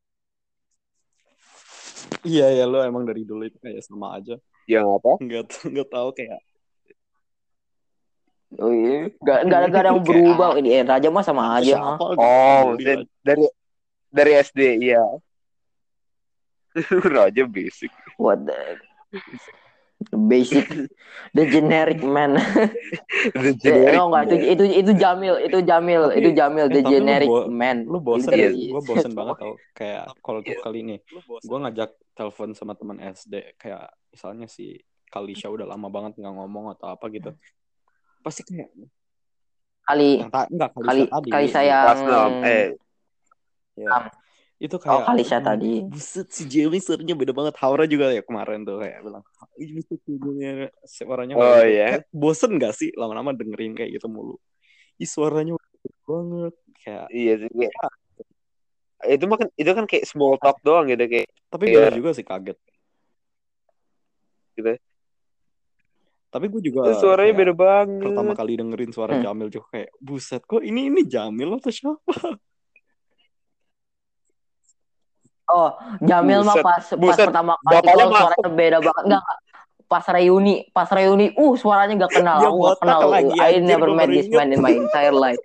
Iya ya lo emang dari dulu itu kayak sama aja. Yang apa? Enggak enggak tahu kayak Oh iya, gak, gak, gak ada yang berubah. Ini eh, Raja mah sama aja. Siapa? Oh, dari dari S D iya. Raja basic. What the basic, the generic man. The generic no, enggak, itu itu itu Jamil, itu Jamil, tapi, itu Jamil, the eh, generic lu bo- man. Lu bosen Iya. ya? Gue bosen banget tau. Kayak kalau tuh kali ini, gue ngajak telepon sama teman S D. Kayak misalnya si Kalisha udah lama banget nggak ngomong atau apa gitu. Pasti kayak Kali yang ta- enggak kali Kalisha tadi. kali saya Pas nom, eh Ya. Um, Itu oh kayak Kalisha tadi. buset si Jamie suaranya beda banget. Haura juga ya kemarin tuh kayak bilang ih buset suaranya suaranya Oh, gitu. iya. Kayak bosen gak sih lama-lama dengerin kayak gitu mulu. Ih suaranya beda banget kayak. iya sih. Kayak, itu mah kan itu kan kayak small talk doang gitu kayak Tapi Iya. gue juga sih kaget. gitu. Tapi gue juga Itu suaranya kayak beda banget. pertama kali dengerin suara Hmm. Jamil juga kayak buset kok ini ini Jamil atau siapa? Oh, Jamil mah Buset, pas pas buset. pertama kali Bapaknya call suaranya masuk. beda banget. Enggak, enggak. Pas reuni, pas reuni, uh suaranya gak kenal. Dia Aku gak botak kenal. lagi, I anjir, never gua met baru this inget. man in my entire life.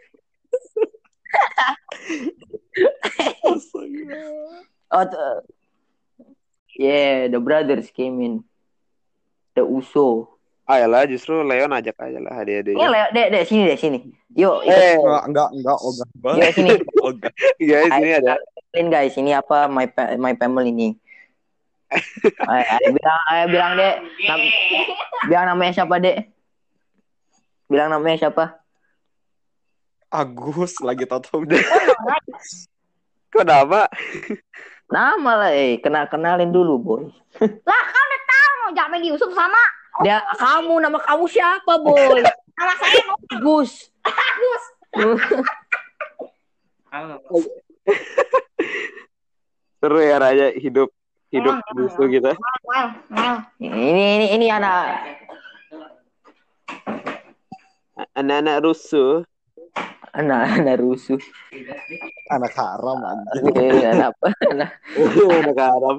Astaga. Oh, t- yeah, the brothers came in. The Uso. Ayolah justru Leon ajak aja lah Ini adik-adiknya. Leo, dek, dek, sini deh, sini. Yuk, ikut. Eh, Enggak enggak enggak ogah Yuk, banget. sini. Ogah. guys ini ada. Kenalin guys, ini apa my pa- my family ini. Ayo, ayo, bilang, ayo bilang dek, nam- bilang namanya siapa dek? Bilang namanya siapa? Agus lagi tahu-tahu. Kenapa? Nama lah, eh, kenal kenalin dulu, boy. Lah, kau udah tahu Jamil Yusuf sama Dia kamu, nama kamu siapa, boy? nama saya Nova. Gus. Agus. Seru ya Raja hidup hidup musuh kita. Well, well. Ini ini ini anak Anak-anak rusuh. anak-anak rusuh. Anak haram anjing. Ini anak apa? Anak. Anak haram.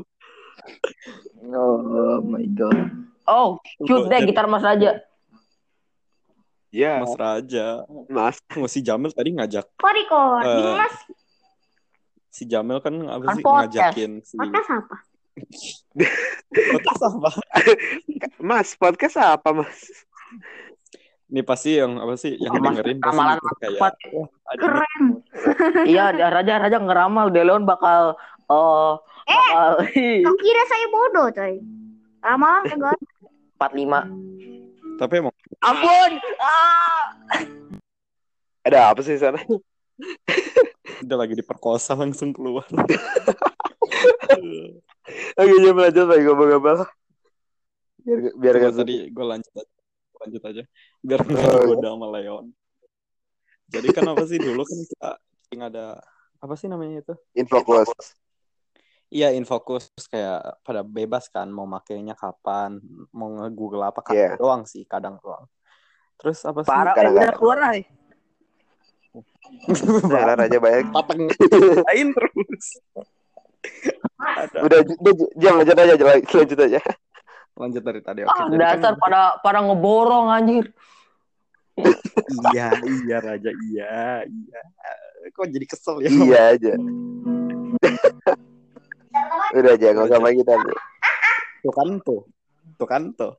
Oh my god. Oh, shoot deh gitar Mas Raja. Ya, Mas Raja. Mas. Oh, si Jamil tadi ngajak. Kok recording, Eh, Mas? Si Jamil kan apa Kan sih podcast. ngajakin si Podcast apa? podcast apa? Mas, podcast apa, Mas? Ini pasti yang apa sih yang Mas, dengerin pasti ramalan mikir kayak apa? wah, ada Keren. Iya, Raja Raja ngeramal De Leon bakal oh bakal Kau kira saya bodoh, coy. Ramalan kagak. empat puluh lima. tapi emang Ampun. Ah. Ada apa sih sana? udah lagi diperkosa langsung keluar. Oke, jam lanjut lagi ngomong apa? Biar biar Coba kan tadi gue lanjut aja. lanjut aja biar nggak Oh, goda sama Leon. Jadi kan apa sih dulu kan kita yang ada apa sih namanya itu? Infokus. Iya Infokus kayak pada bebas kan mau makainya kapan, mau nge-google apa kadang Iya. doang sih kadang doang. Terus apa sih? Parah, eh, Kadang-kadang. udah keluar lah. Nah, Raja banyak. Pateng lain terus. Ada. Udah, udah jam lanjut aja, lanjut aja. Lanjut dari tadi. Oke. Ah, Jadi dasar kan, pada pada ngeborong anjir. iya iya Raja iya iya. Kok jadi kesel ya? Iya aja. Udah aja, nggak usah lagi tadi. Tuh kan tuh. Tuh kan tuh.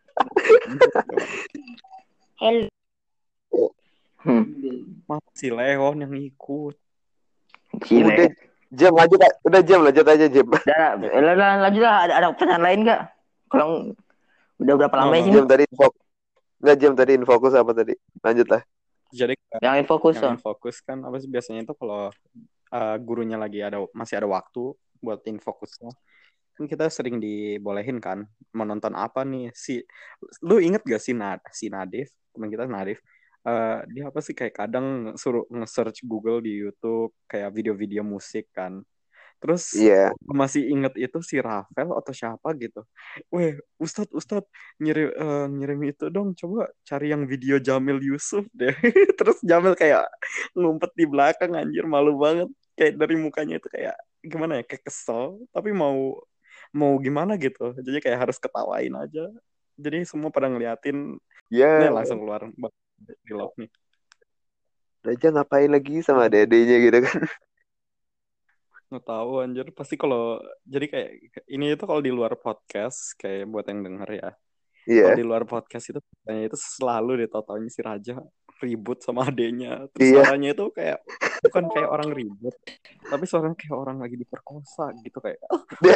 Hello. Hmm. Masih Leon yang ikut. Udah, Gile. jam lanjut, udah jam lanjut aja jam. Udah, lah, lah, lanjut lah. Ada, ada pertanyaan lain nggak? Kalau udah berapa lama Oh, sih? Jam tadi info, nggak jam tadi infokus apa tadi? Lanjut lah. Jadi Yang fokus yang so. fokus kan apa sih biasanya itu kalau uh, gurunya lagi ada masih ada waktu buat infokusnya kan kita sering dibolehin kan menonton apa nih si lu inget gak sih Nad si Nadif teman kita Nadif uh, dia apa sih kayak kadang suruh nge-search Google di YouTube kayak video-video musik kan terus Iya. masih inget itu si Rafael atau siapa gitu. Weh, Ustadz, Ustadz ngirim eh, ngirim itu dong, coba cari yang video Jamil Yusuf deh. Terus Jamil kayak ngumpet di belakang anjir malu banget. Kayak dari mukanya itu kayak gimana ya, kayak kesel, tapi mau mau gimana gitu. Jadi kayak harus ketawain aja. Jadi semua pada ngeliatin, Ya, dia langsung keluar di love nih. Raja ngapain lagi sama dedenya gitu kan? Nggak tahu anjir pasti kalau jadi kayak ini itu kalau di luar podcast kayak buat yang denger ya Iya. kalau di luar podcast itu katanya itu selalu ditotaunya si Raja ribut sama adenya terus Iya. suaranya itu kayak bukan kayak orang ribut tapi suaranya kayak orang lagi diperkosa gitu kayak Dia-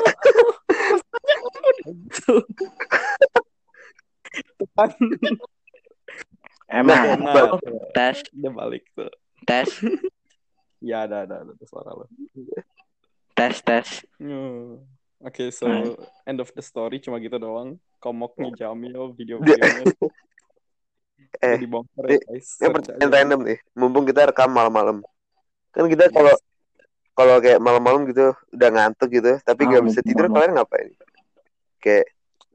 gitu. Tuh kan. Emang. Nah, Tes, dia balik tuh tes, ya ada ada ada tuh suara lo. tes, tes. Hmm. Oke, so Nah. end of the story cuma gitu doang. Komoknya Jamil, video-videonya Eh, dibongkar eh, ya guys. Yang Search pertanyaan aja. random nih. Mumpung kita rekam malam-malam. Kan kita kalau kalau kayak malam-malam gitu udah ngantuk gitu, tapi Ah, nggak bisa tidur, malam. kalian ngapain? Kayak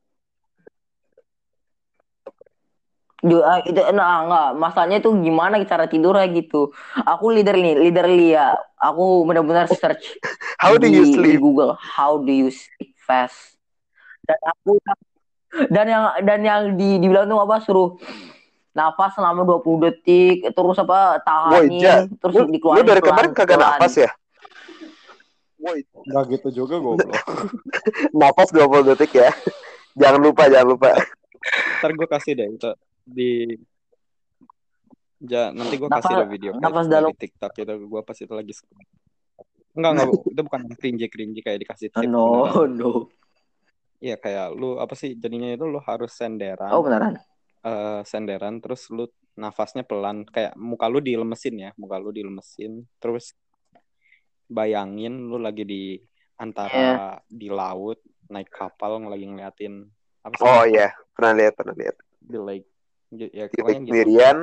Ju- ah, itu nah enggak masalahnya tuh gimana cara tidurnya gitu. Aku leader nih, leader ya. Aku benar-benar search how do di, you di sleep? Google how do you sleep fast. Dan aku dan yang dan yang di dibilang tuh apa suruh nafas selama dua puluh detik terus apa Woi, Ja, tahanin terus lu, lu dikeluarin dari kemarin kagak pelan-pelan. nafas ya? Nggak gitu juga goblok. Nafas dua puluh detik ya. Jangan lupa, jangan lupa. Ntar gue kasih deh itu di ja nanti gue Nafas- kasih deh video kayak nafas dari dalam. TikTok itu gue pas itu lagi scroll. Enggak enggak itu bukan cringy cringy kayak dikasih tip. No, beneran. no. Iya kayak lu apa sih jadinya itu lu harus senderan. Oh beneran. uh, senderan, terus lu nafasnya pelan, kayak muka lu dilemesin ya, muka lu dilemesin, terus bayangin lu lagi di antara Iya. di laut, naik kapal, lagi ngeliatin apa sih? Oh iya, pernah lihat, pernah lihat. The lake. Ya, Titik pokoknya gitu. sendirian.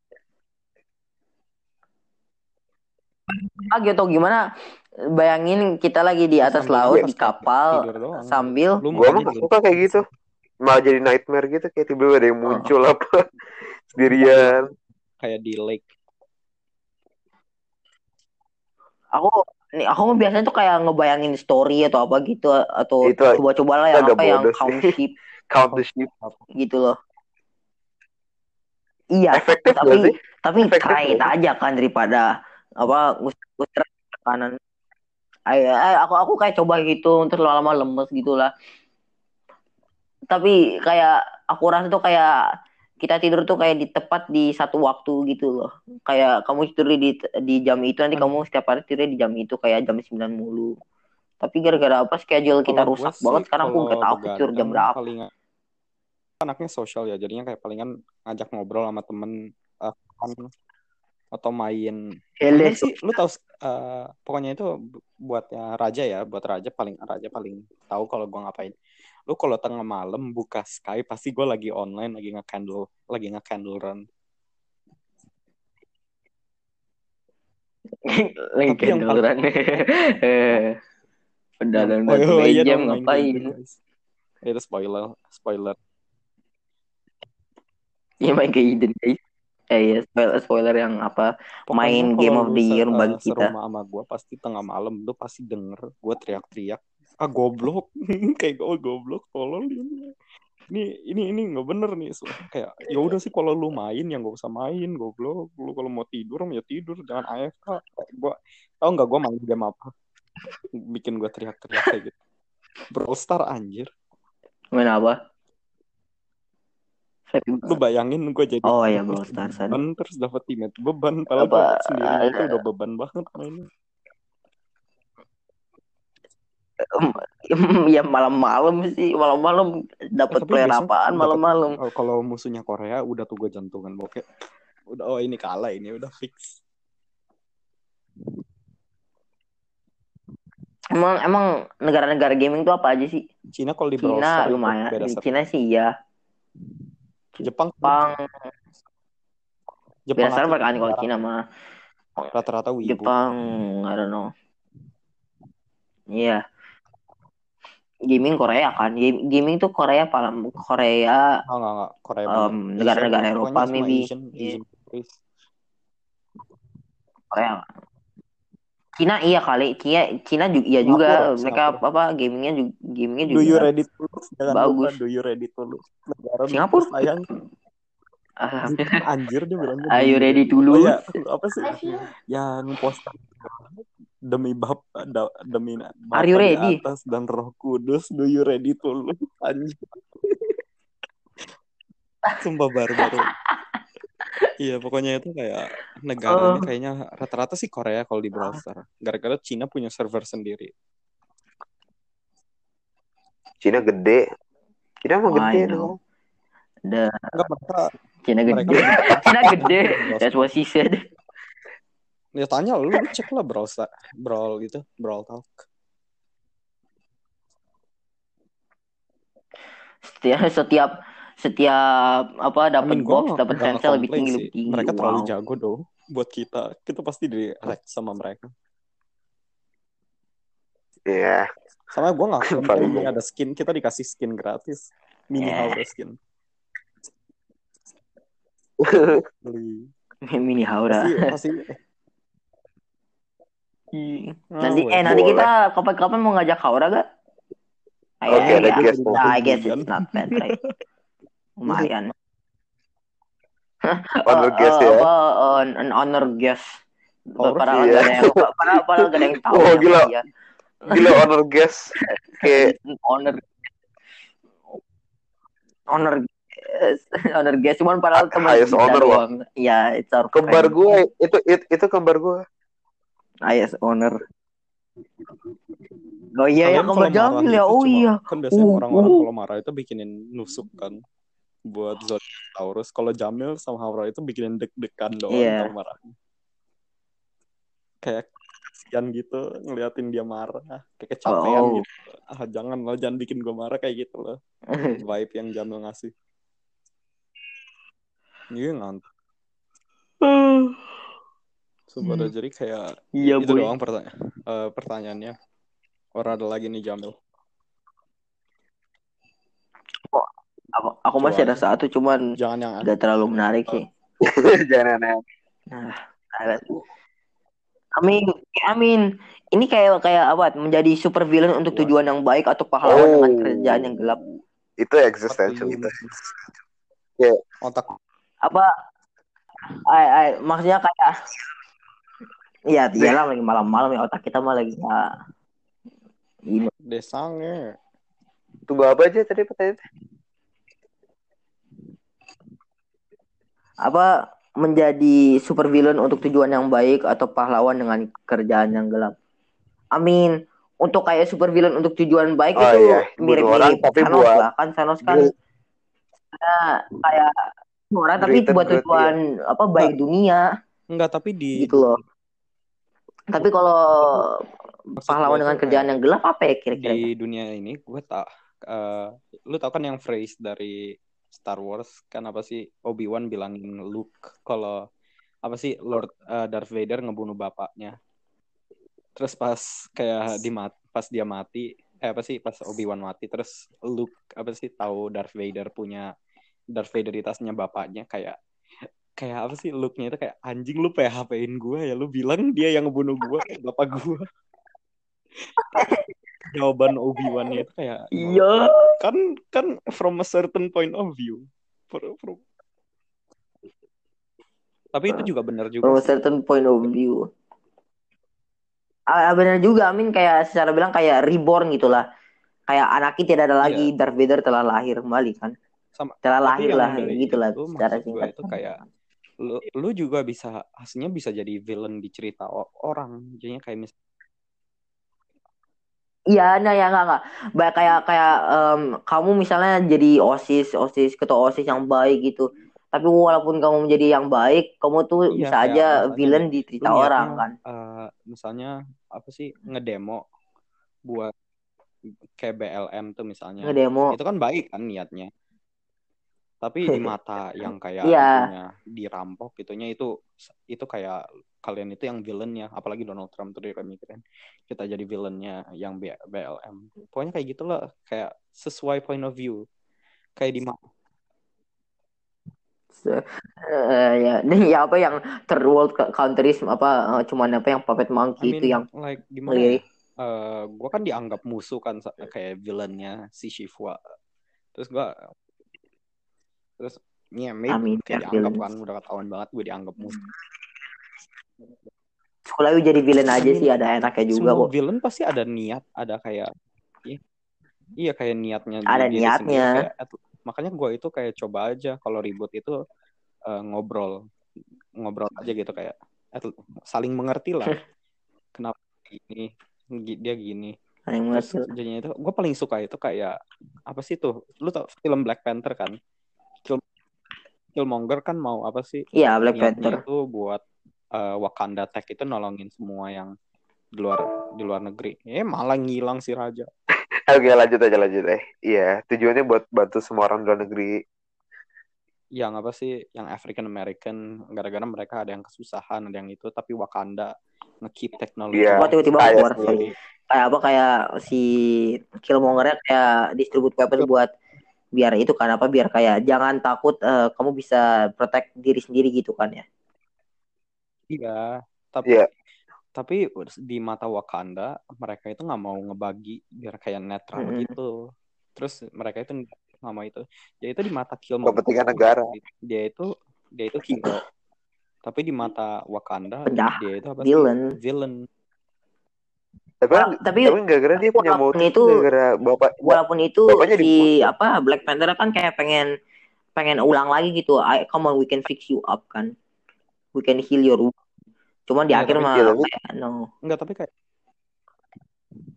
Ah gitu gimana? Bayangin kita lagi di atas Sambil laut nafas, di kayak kapal tidur doang. sambil Lu Gua mukanya mah gak di- suka kayak gitu. Malah jadi nightmare gitu, kayak tiba-tiba ada yang muncul apa sendirian. kayak di lake. aku nih aku mah biasanya tuh kayak ngebayangin story atau apa gitu atau Itu coba-coba lah itu yang agak apa yang bodoh count sih. sheep Count the sheep. gitu loh. Iya, Efektif gak tapi sih? tapi Efektif try it gak sih? aja kan daripada apa ngusir ke kanan. Ay, ay, aku aku kayak coba gitu terus lama-lama lemes gitulah. Tapi kayak aku rasa tuh kayak kita tidur tuh kayak di tepat di satu waktu gitu loh. Kayak kamu tidur di di jam itu nanti Hmm. kamu setiap hari tidur di jam itu kayak jam sembilan mulu. Tapi gara-gara apa schedule kita Kalau gue rusak sih, banget sekarang aku kalau nggak tahu aku tidur jam begadang berapa. paling anaknya sosial ya, jadinya kayak palingan ngajak ngobrol sama temen uh, kan, atau main. Hele, Pokoknya sih lu tahu uh, pokoknya itu buatnya raja ya, buat raja paling raja paling tahu kalau gue ngapain. Lu kalau tengah malam buka Skype pasti gue lagi online, lagi nge-candle, lagi nge-candle run. lagi Tapi yang kendoran. paling Pendalan oh, batu oh, iya jam dong, main ngapain? game, guys. Itu spoiler, spoiler. Iya main ke Eden guys. Eh ya spoiler spoiler yang apa Pokoknya main kalau game of lu the se- year uh, bagi kita. serumah sama gue pasti tengah malam lu pasti denger gue teriak-teriak, ah goblok, kayak gue goblok, tolong ini ini ini ini nggak bener nih. So, kayak ya udah sih kalau lu main yang gak usah main, goblok. Lu kalau mau tidur ya tidur, jangan A F K. Gue tau nggak gue main game apa bikin gue teriak-teriak kayak gitu? Brawl Star anjir. Main apa? Lu bayangin gue jadi Oh ya Brawl Stars. beban terus dapat teammate beban, padahal Apa, gue sendiri uh, itu udah beban banget mainnya. ya malam-malam sih malam-malam dapat Tapi player biasanya apaan dapet- malam-malam. oh, kalau musuhnya Korea udah tuh gue jantungan bokeh. Udah oh ini kalah, ini udah fix. Emang emang negara-negara gaming tuh apa aja sih? Cina kalau di Brawl Cina Stars itu lumayan. beda Di server. Cina sih ya. Jepang Jepang Jepang biasa asli mereka kalau Cina mah rata-rata wibu. Jepang I don't know. Iya. Gaming Korea kan. Game- Gaming tuh Korea paling Korea Oh, enggak, enggak. Korea um, bener. negara-negara Asian, Eropa pokoknya semua maybe. Asian, Iya. Asian countries. Korea. Cina iya kali. Cina Cina juga iya juga. Singapura, Mereka Singapura. apa gamingnya juga gamingnya Do you juga ready to lose? Jangan bagus. lupa do you ready to lose. Negara Singapura. sayang. Alhamdulillah. Anjir dia bilangnya. Are you ready to Oh lose? ya, apa sih? Yang post demi bab da, demi Bapa Are you di ready? atas dan Roh Kudus, do you ready to lose? Anjir. Sumpah baru-baru. Iya, pokoknya itu kayak negaranya Oh. kayaknya rata-rata sih Korea kalau di Brawl Stars. Gara-gara Cina punya server sendiri. Cina gede. Cina mah Oh, gede I know. dong. The Enggak, mereka Cina mereka gede. lebih- Cina gede. That's what she said. Ya tanya lu, lu cek lah Brawl Stars, Brawl gitu, Brawl Talk. Setiap setiap setiap apa I dapat mean, gua box dapat nggak chance lebih nge-complain tinggi sih. lebih tinggi. Mereka terlalu Wow. jago doh buat kita. Kita pasti di hack sama mereka. Iya. Sama gue nggak Paling komplain nih banyak. ada skin, kita dikasih skin gratis, mini Yeah. Haura skin. Beli. Mini Haura. Pasti pasti. Nanti Oh, eh wait. nanti boleh. kita kapan-kapan mau ngajak Haura gak? Oke, ada ya. guest. Nah, I guess it's not bad, right? Lumayan. Honor Eh, guest eh, ya. Apa eh, an honor guest. Oh, Padahal iya. gak ada yang padahal, padahal gak ada yang tahu. Oh, siapa gila. dia. Gila honor guest. Kayak honor honor guest. honor guest cuman padahal teman highest kita honor, doang. Iya, it's our kembar friend. gue itu itu, itu kembar gue. Highest honor. Oh iya ya Kalian kembar kalau marah Jamil ya. itu Oh cuma- iya. Kan biasanya Uh, orang-orang uh. kalau marah itu bikinin nusuk kan. buat Zodiac. Kalau Jamil sama Haura itu bikin deg-degan doang Iya. tau marahnya. Kayak kasihan gitu ngeliatin dia marah, kayak kecapean Oh. gitu. Ah jangan lo, jangan bikin gue marah kayak gitu loh. Vibe yang Jamil ngasih. Iya ngantuk. Sumpah dah, jadi kayak Iya, itu boy. doang pertanya- eh, pertanyaannya. Orang ada lagi nih Jamil. Aku, aku Coba masih ada aja. satu, cuman Jangan yang gak terlalu menarik sih. Jangan aneh. Nah, ada. Amin, Amin. Ini kayak kayak apa? Menjadi super villain untuk What? tujuan yang baik atau pahlawan dengan Oh, kerjaan yang gelap. itu existential What do itu. you- Ya, Otak Apa? Ay, ay, maksudnya kayak, iya, iyalah lagi malam-malam ya, otak kita mah lagi nggak ini. desangnya. tunggu apa aja tadi pertanyaannya? Apa menjadi super villain untuk tujuan yang baik atau pahlawan dengan kerjaan yang gelap? Amin. Untuk kayak super villain untuk tujuan baik Oh itu iya, bunuh orang mirip-mirip tapi Thanos buat lah, kan Thanos kan gre- kayak orang tapi greater buat good, tujuan apa baik dunia Enggak, tapi di gitu loh. Tapi kalau maksud pahlawan gue dengan tuh kerjaan kayak yang gelap apa ya kira-kira? di dunia ini gue tak eh, lu tau kan yang phrase dari Star Wars kan apa sih, Obi-Wan bilangin Luke kalau apa sih Lord eh, Darth Vader ngebunuh bapaknya. Terus pas kayak di mat pas dia mati eh apa sih pas Obi-Wan mati, terus Luke apa sih tahu Darth Vader punya Darth Vaderitasnya bapaknya, kayak kayak apa sih Luke-nya itu kayak anjing, lu P H P-in gue ya, lu bilang dia yang ngebunuh gue, bapak gue. Jawaban Obi-Wan-nya itu kayak Iya. kan kan from a certain point of view. From- from- Tapi itu juga benar juga From a sih. certain point of view. Ah, benar juga, Amin, kayak secara bilang kayak reborn gitulah. Kayak anaknya tidak ada lagi, Iya. Darth Vader telah lahir kembali kan. Sama, Telah tapi lahir yang lah dari gitulah itu secara maksud gue singkat. itu kayak lu, lu juga bisa aslinya bisa jadi villain di cerita o- orang. Jadinya kayak mis Iya, nah ya nggak nggak. Ba- Kayak kayak em, kamu misalnya jadi osis, osis ketua osis yang baik gitu. Tapi walaupun kamu menjadi yang baik, kamu tuh iya bisa kayak aja misalnya villain nih, di lu cerita niatnya orang kan. eh, misalnya apa sih ngedemo buat kayak B L M tuh misalnya. Ngedemo. Itu kan baik kan niatnya. Tapi di mata yang kayak Iya. itunya dirampok gitunya, itu itu kayak kalian itu yang villainnya, apalagi Donald Trump tuh dia mikirin kita jadi villainnya yang B- BLM. Pokoknya kayak gitu lah, kayak sesuai point of view. Kayak di ma- Eh, ya, nih ya apa yang third world countries apa eh, cuman apa yang puppet I monkey itu mean, yang like gimana ya? ngelirik. Eh, gue kan dianggap musuh kan sa- kayak villainnya si Shiva. Terus gue terus ya maybe Amin, kayak biar dianggap villain. kan udah ketahuan banget gue dianggap musuh. Sekolah lu jadi villain aja I mean, sih, ada enaknya juga semua kok. villain pasti ada niat, ada kayak iya, iya kayak niatnya di Ada diri niatnya. sendiri kayak at- makanya gue itu kayak coba aja kalau ribut itu eh, ngobrol ngobrol aja gitu kayak at- saling mengerti lah kenapa ini gi- dia gini. Ada yang Terus mengerti lah. jadinya itu gue paling suka itu kayak apa sih tuh, lu tau film Black Panther kan? Kill- Killmonger kan mau apa sih Iya, Black niatnya Panther. itu buat eh, Wakanda Tech itu nolongin semua yang di luar di luar negeri. Eh malah ngilang si raja. Oke, lanjut aja lanjut eh. Iya, tujuannya buat bantu semua orang luar negeri. Yang apa sih, yang African American, gara-gara mereka ada yang kesusahan, ada yang itu, tapi Wakanda nge-keep teknologi. Iya, Kok tiba-tiba kaya keluar sendiri. sorry. Kayak apa kayak si Killmonger-nya kayak distribute weapon buat biar itu kan apa biar kayak jangan takut eh, kamu bisa protect diri sendiri gitu kan ya. Iya, tapi Iya. tapi di mata Wakanda mereka itu nggak mau ngebagi biar kayak netral Mm-mm. gitu. Terus mereka itu nggak mau itu. Jadi itu di mata Killmonger Kepentingan negara. dia itu dia itu hero. Tapi di mata Wakanda Penjahat, dia itu apa villain. sih? Villain. Tapi Wala- tapi tapi gara-gara dia punya walaupun motif itu gara-gara bapak walaupun itu bapaknya si dibunuh. apa Black Panther kan kayak pengen pengen ulang lagi gitu. I, come on, we can fix you up kan. We can heal your wound. Cuman di Iya, akhir tapi- mah Iya, tapi- kayak no. Enggak, tapi kayak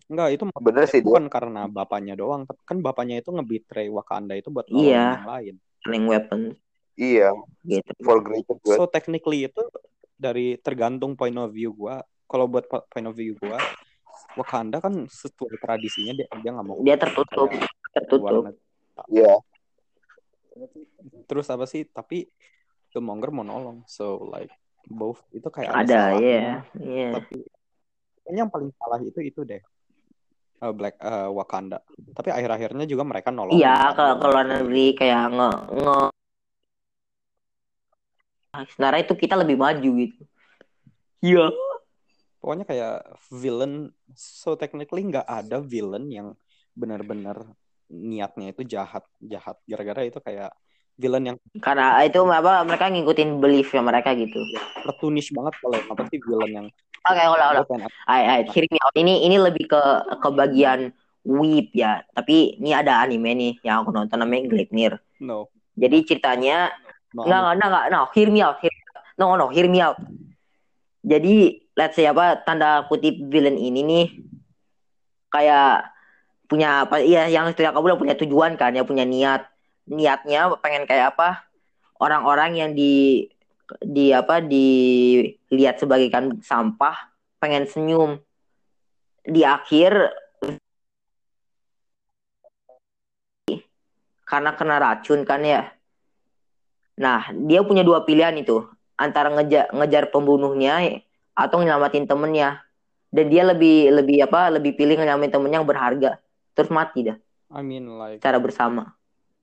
Enggak, itu Bener sih dia. bukan karena bapaknya doang, tapi kan bapaknya itu nge-betray Wakanda itu buat nolongin Iya, yang lain. killing weapons Iya, gitu. for greater good. So technically itu dari tergantung point of view gua. Kalau buat po- point of view gua, Wakanda kan sesuai tradisinya dia dia nggak mau Dia tertutup, kayak luar tertutup. negeri. Iya, Terus apa sih? Tapi Killmonger mau nolong, so like both itu kayak ada, Ada, salahnya. iya, iya. Tapi kayaknya yang paling salah itu itu deh. Uh, Black uh, Wakanda. Tapi akhir-akhirnya juga mereka nolongin. Iya, kan, ke luar ke luar negeri. negeri kayak nge nge sebenarnya itu kita lebih maju gitu. Iya. Pokoknya kayak villain, so technically nggak ada villain yang benar-benar niatnya itu jahat jahat gara-gara itu kayak villain yang Karena itu apa mereka ngikutin beliefnya mereka gitu. cartoonish banget kalau apa sih villain yang Oke, ulah ulah. gue pengen Ay, ay, hear me out. Ini ini lebih ke ke bagian weeb ya. Tapi ini ada anime nih yang aku nonton namanya Gleipnir. no Jadi ceritanya no enggak enggak enggak no, hear me out. Hear, no no, hear me out. Jadi let's say apa tanda kutip villain ini nih kayak punya apa iya yang istilah kamu bilang punya tujuan kan ya punya niat niatnya pengen kayak apa orang-orang yang di di apa dilihat sebagai kan sampah pengen senyum di akhir karena kena racun kan ya. Nah dia punya dua pilihan itu antara ngejar ngejar pembunuhnya atau nyelamatin temennya dan dia lebih lebih apa lebih pilih nyelamatin temennya yang berharga terus mati dah I mean like cara bersama.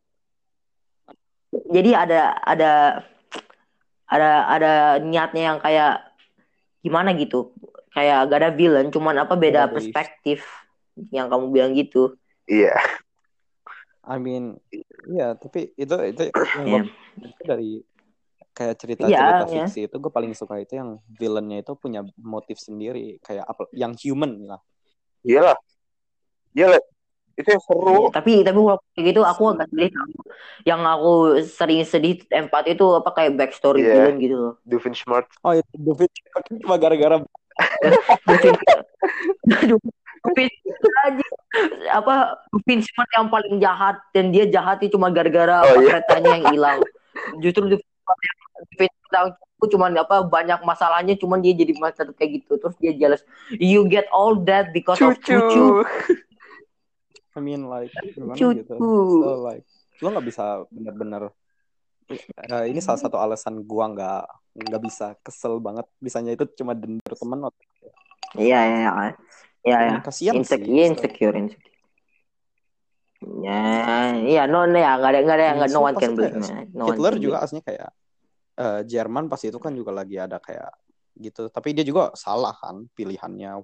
Jadi ada ada ada ada niatnya yang kayak gimana gitu kayak gak ada villain cuman apa beda Beda belief. perspektif yang kamu bilang gitu. iya. I mean iya tapi itu itu yang Yeah. gue itu dari kayak cerita-cerita Iya, iya. fiksi itu gue paling suka itu yang villainnya itu punya motif sendiri kayak apa yang human lah. Iyalah. Iyalah. Itu yang seru. Iya, tapi tapi walaupun kayak gitu aku agak sedih. Yang aku sering sedih empat itu apa kayak backstory Iya. villain gitu loh. Doofenshmirtz. Oh itu David cuma gara-gara Dovin Dovin aja apa Dovin Smart yang paling jahat dan dia jahat itu cuma gara-gara Oh, apa iya. keretanya yang hilang. Justru Dovin Smart yang Dovin Smart itu cuma apa banyak masalahnya cuman dia jadi macam kayak gitu terus dia jealous. You get all that because of cucu. I mean like gimana Cucu. gitu. So like lo nggak bisa benar-benar uh, ini salah satu alasan gua nggak nggak bisa kesel banget bisanya itu cuma dendam temen. Iya iya iya. Iya ya. Kasian Insecure, sih. insecure, insecure. Ya, iya no no ya nggak ada nggak ada nggak no one can blame. No one Hitler can juga blame. aslinya kayak uh, Jerman pas itu kan juga lagi ada kayak gitu. Tapi dia juga salah kan pilihannya.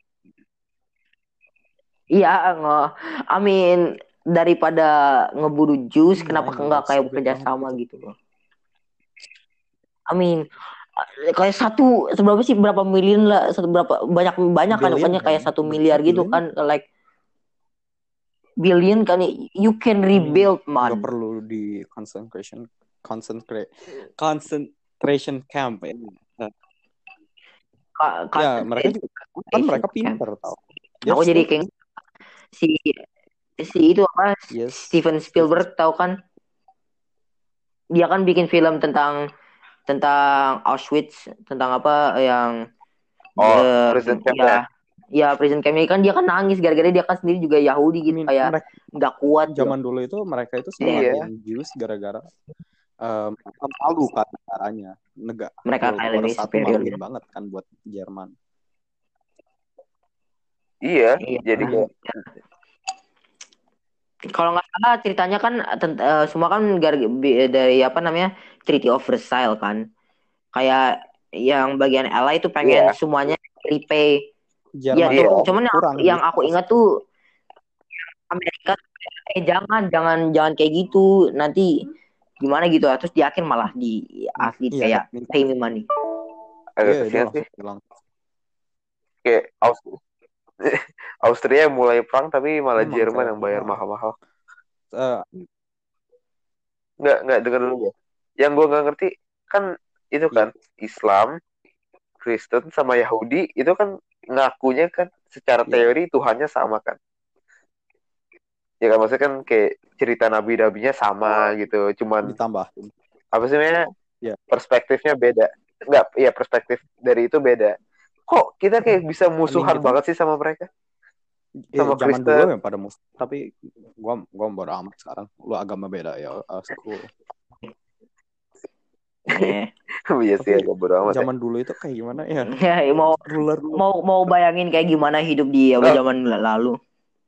Iya, nge, I mean daripada ngeburu jus, Iya, kenapa I know, nggak kayak stupid bekerja banget sama gitu. gitu loh? I mean eh, kayak satu seberapa sih berapa miliar lah satu berapa banyak banyak kan Billion, pokoknya kayak kan? satu Berapa miliar gitu billion? kan like billion kan you can rebuild man. Nggak perlu di concentration concentrate concentration camp ya. Nah, Ka- ya ka- mereka juga kan mereka pinter tau. Aku jadi kayak si si itu apa Yes. Steven Spielberg tahu kan? Dia kan bikin film tentang tentang Auschwitz, tentang apa yang Oh, eh, prison camp ya, ya prison camp ini kan dia kan nangis gara-gara dia kan sendiri juga Yahudi gitu I mean, kayak mereka, nggak kuat. zaman dulu itu mereka itu selain Jews gara-gara um, malu kan caranya negara Mereka kayak lebih superior maluin gitu. banget kan buat Jerman. Iya, Iya. jadi kayak Kalau nggak salah ceritanya kan tent- eh, semua kan gar- bi- dari apa namanya Treaty of Versailles kan. Kayak yang bagian L A itu pengen Iya. semuanya repay. Jerman Iya, Iya. cuman yang, kurang yang gitu. aku ingat tuh Amerika eh jangan jangan jangan kayak gitu nanti gimana gitu terus di akhir malah di asli Iya, kayak minta. pay me money. agak Iya, dia kesian sih. langsung bilang. Kayak Austria. Austria yang mulai perang tapi malah Emang Jerman kayak, yang bayar wah. mahal-mahal. Uh, Nggak, nggak dengar dulu ya. Yang gue nggak ngerti kan itu kan Islam, Kristen sama Yahudi itu kan ngakunya kan secara Iya. teori Tuhannya sama kan. Ya kan maksudnya kan kayak cerita nabi-nabinya sama gitu. Cuman Ditambahin. apa sih namanya? Iya. Perspektifnya beda. Enggak, iya perspektif dari itu beda. Kok kita kayak bisa musuhan I mean, banget sih sama mereka? Eh, Sama zaman Kristen. dulu ya pada mus, tapi gua gua bodo amat sekarang. Lu agama beda ya, uh, cool. Iya. Iya sih Tapi agak bodo amat ya. zaman dulu itu kayak gimana ya? Ya, mau Ruler mau mau bayangin kayak gimana hidup di apa, Nah. zaman lalu.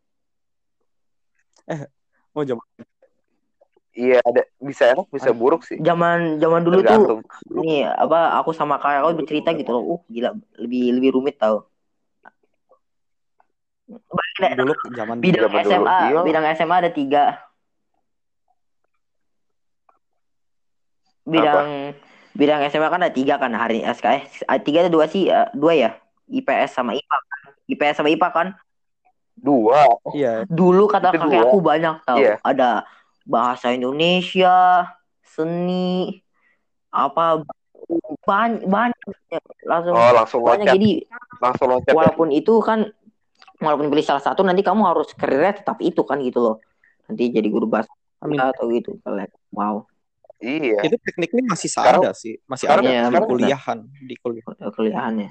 oh zaman Iya ada bisa enak bisa buruk sih. Zaman zaman dulu tuh Tergantung. nih apa aku sama kakak aku bercerita gitu loh. Uh gila, lebih lebih rumit tau. Bayangin deh, dulu zaman bidang Zaman dulu, S M A, iya. bidang S M A ada tiga. Bidang bidang S M A kan ada tiga kan hari S K S. Tiga ada dua sih, eh, dua ya. I P S sama I P A kan. I P S sama I P A kan. Dua. iya Dulu kata Itu kakek dua. aku banyak tau. Iya. Ada bahasa Indonesia, seni, apa banyak banyak langsung Oh langsung banyak. loncat. Jadi Langsung loncat. Ya. walaupun itu kan walaupun pilih salah satu nanti kamu harus karirnya tetap itu kan gitu loh. Nanti jadi guru bahasa I mean, atau gitu. Wow. Iya. itu tekniknya masih Sekarang- ada sih, masih sekarang- ada Iya, di benar. kuliahan, di kuliah. Kuliahannya.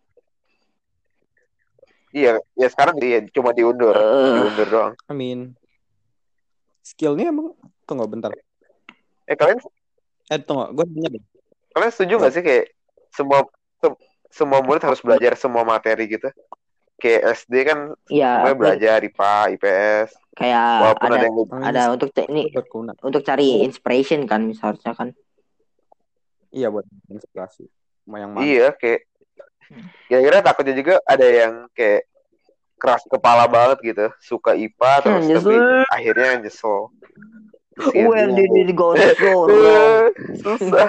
Iya, ya sekarang dia cuma diundur, Eh. diundur doang. I mean, skillnya emang tunggu bentar. Eh kalian Eh tunggu, gue nanya deh. kalian setuju nggak sih kayak semua se- semua murid harus belajar semua materi gitu? Kayak S D kan Iya, semuanya belajar I P A, I P S. kayak Walaupun ada ada yang ada untuk ce- ini Itu berguna. untuk cari inspiration kan misalnya kan. Iya buat inspirasi. Mau yang mana? iya kayak kira-kira takutnya juga ada yang kayak keras kepala banget gitu, suka I P A terus Nyesel. tapi akhirnya nyesel. Kesian Where juga. did it go so wrong? Susah.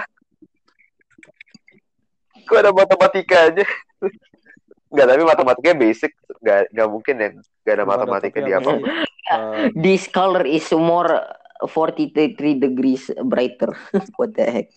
Kok ada matematika aja? Enggak, tapi matematikanya basic, enggak enggak mungkin ya enggak ada Nggak ada, matematika tapi di apa apa. sih? Eh, This color is more forty-three degrees brighter. What the heck?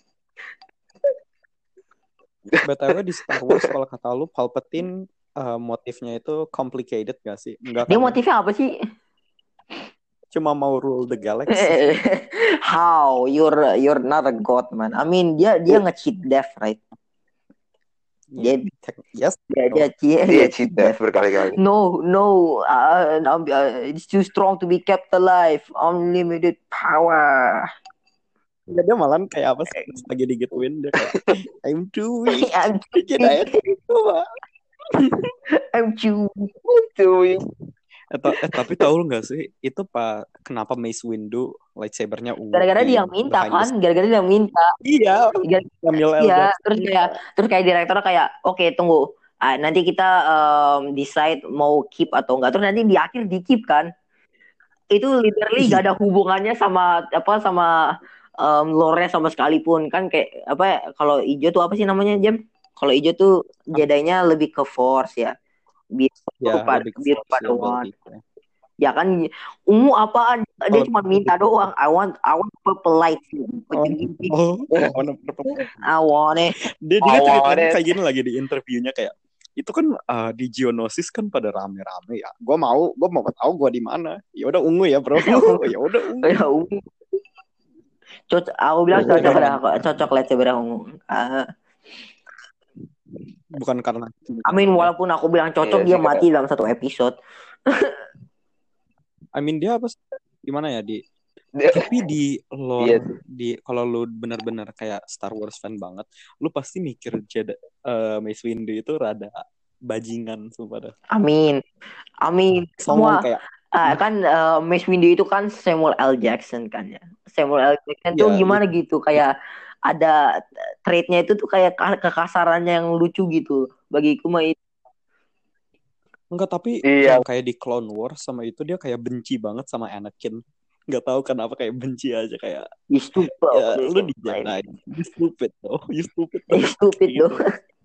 B T W di Star Wars kalau kata lu Palpatine eh, motifnya itu complicated gak sih? Enggak Dia kan? motifnya apa sih? Cuma mau rule the galaxy. How? You're you're not a god, man. I mean, dia dia nge-cheat death, right? Dia Yes. dia dia, dia, Dia cheat death berkali-kali. No, no, uh, uh, it's too strong to be kept alive. Unlimited power. Ya, dia malah kayak apa sih? Pas lagi digituin dia kayak I'm too weak. I'm Bikin aja gitu, Pak. I'm too. Cuy. Eh, ta- eh, tapi tahu nggak sih itu pak kenapa Mace Windu lightsabernya ungu? Gara-gara di dia yang minta behind the kan? scene? Gara-gara dia yang minta. Iya. Gara- Samuel L. Iya, Jackson. terus kayak terus kayak direkturnya kayak oke tunggu. Ah, nanti kita um, decide mau keep atau enggak. Terus nanti di akhir di keep kan. Itu literally gak ada hubungannya sama apa sama um, lore sama sekalipun kan kayak apa ya, kalau hijau tuh apa sih namanya Jam? Kalau hijau tuh Jedi-nya lebih ke force ya. Biru Ya, pada lebih ke biru force pada one. ability. Ya kan ungu apaan? Dia Kalau- cuma minta doang. I want I want purple light. Oh, oh, warna purple. I want it. Dia juga Awalnya- ceritanya kayak gini lagi di interviewnya kayak itu kan uh, di Geonosis kan pada rame-rame ya. Gua mau, gua mau tahu gua di mana. Ya udah ungu ya, Bro. Ya udah ungu. Ya ungu. Cocok, aku bilang cocok dah, cocok lightsaber ungu. Ah, Bukan karena I mean walaupun aku bilang cocok Iya dia sih, mati dalam satu episode. I mean dia apa sih? Gimana ya di Dia- tapi di lore Iya. di kalau lu benar-benar kayak Star Wars fan banget, lu pasti mikir Jedi uh, Mace Windu itu rada bajingan sumpah dah. Amin. Amin. Songong Semua kayak ah, kan uh, Mace Windu itu kan Samuel L. Jackson kan ya. Samuel L. Jackson tuh Ya, gimana gitu kayak ada trait-nya itu tuh kayak ka- kekasarannya yang lucu gitu. Bagiku mah itu. enggak tapi Iya. yang kayak di Clone Wars sama itu dia kayak benci banget sama Anakin. Nggak tahu kenapa kayak benci aja kayak You stupid. ya, lu di Jedi. You stupid though. You stupid. You stupid Gitu. though.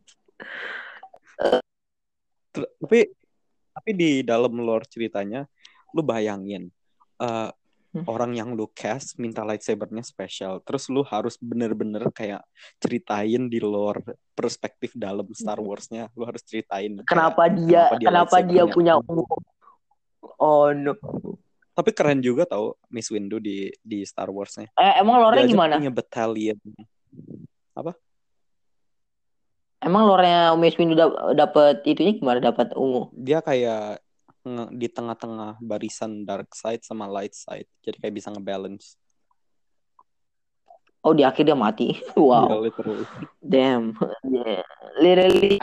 Ter- tapi tapi di dalam lore ceritanya lu bayangin uh, orang yang lu cast minta lightsabernya spesial. Terus lu harus bener-bener kayak ceritain di lore perspektif dalam Star Wars-nya. Lu harus ceritain Kenapa kayak, dia kenapa dia kenapa dia lightsabernya punya ungu. ungu? Oh no. Tapi keren juga tau Miss Windu di di Star Wars-nya. Eh, emang Dia lore-nya aja gimana? punya battalion. Apa? Emang lore-nya Miss Windu dap- dapet itunya gimana? Dapat ungu? Dia kayak nge- di tengah-tengah barisan dark side sama light side. Jadi kayak bisa ngebalance. Oh, di akhir dia mati. Iya, Wow. literally. Damn. Yeah. Literally.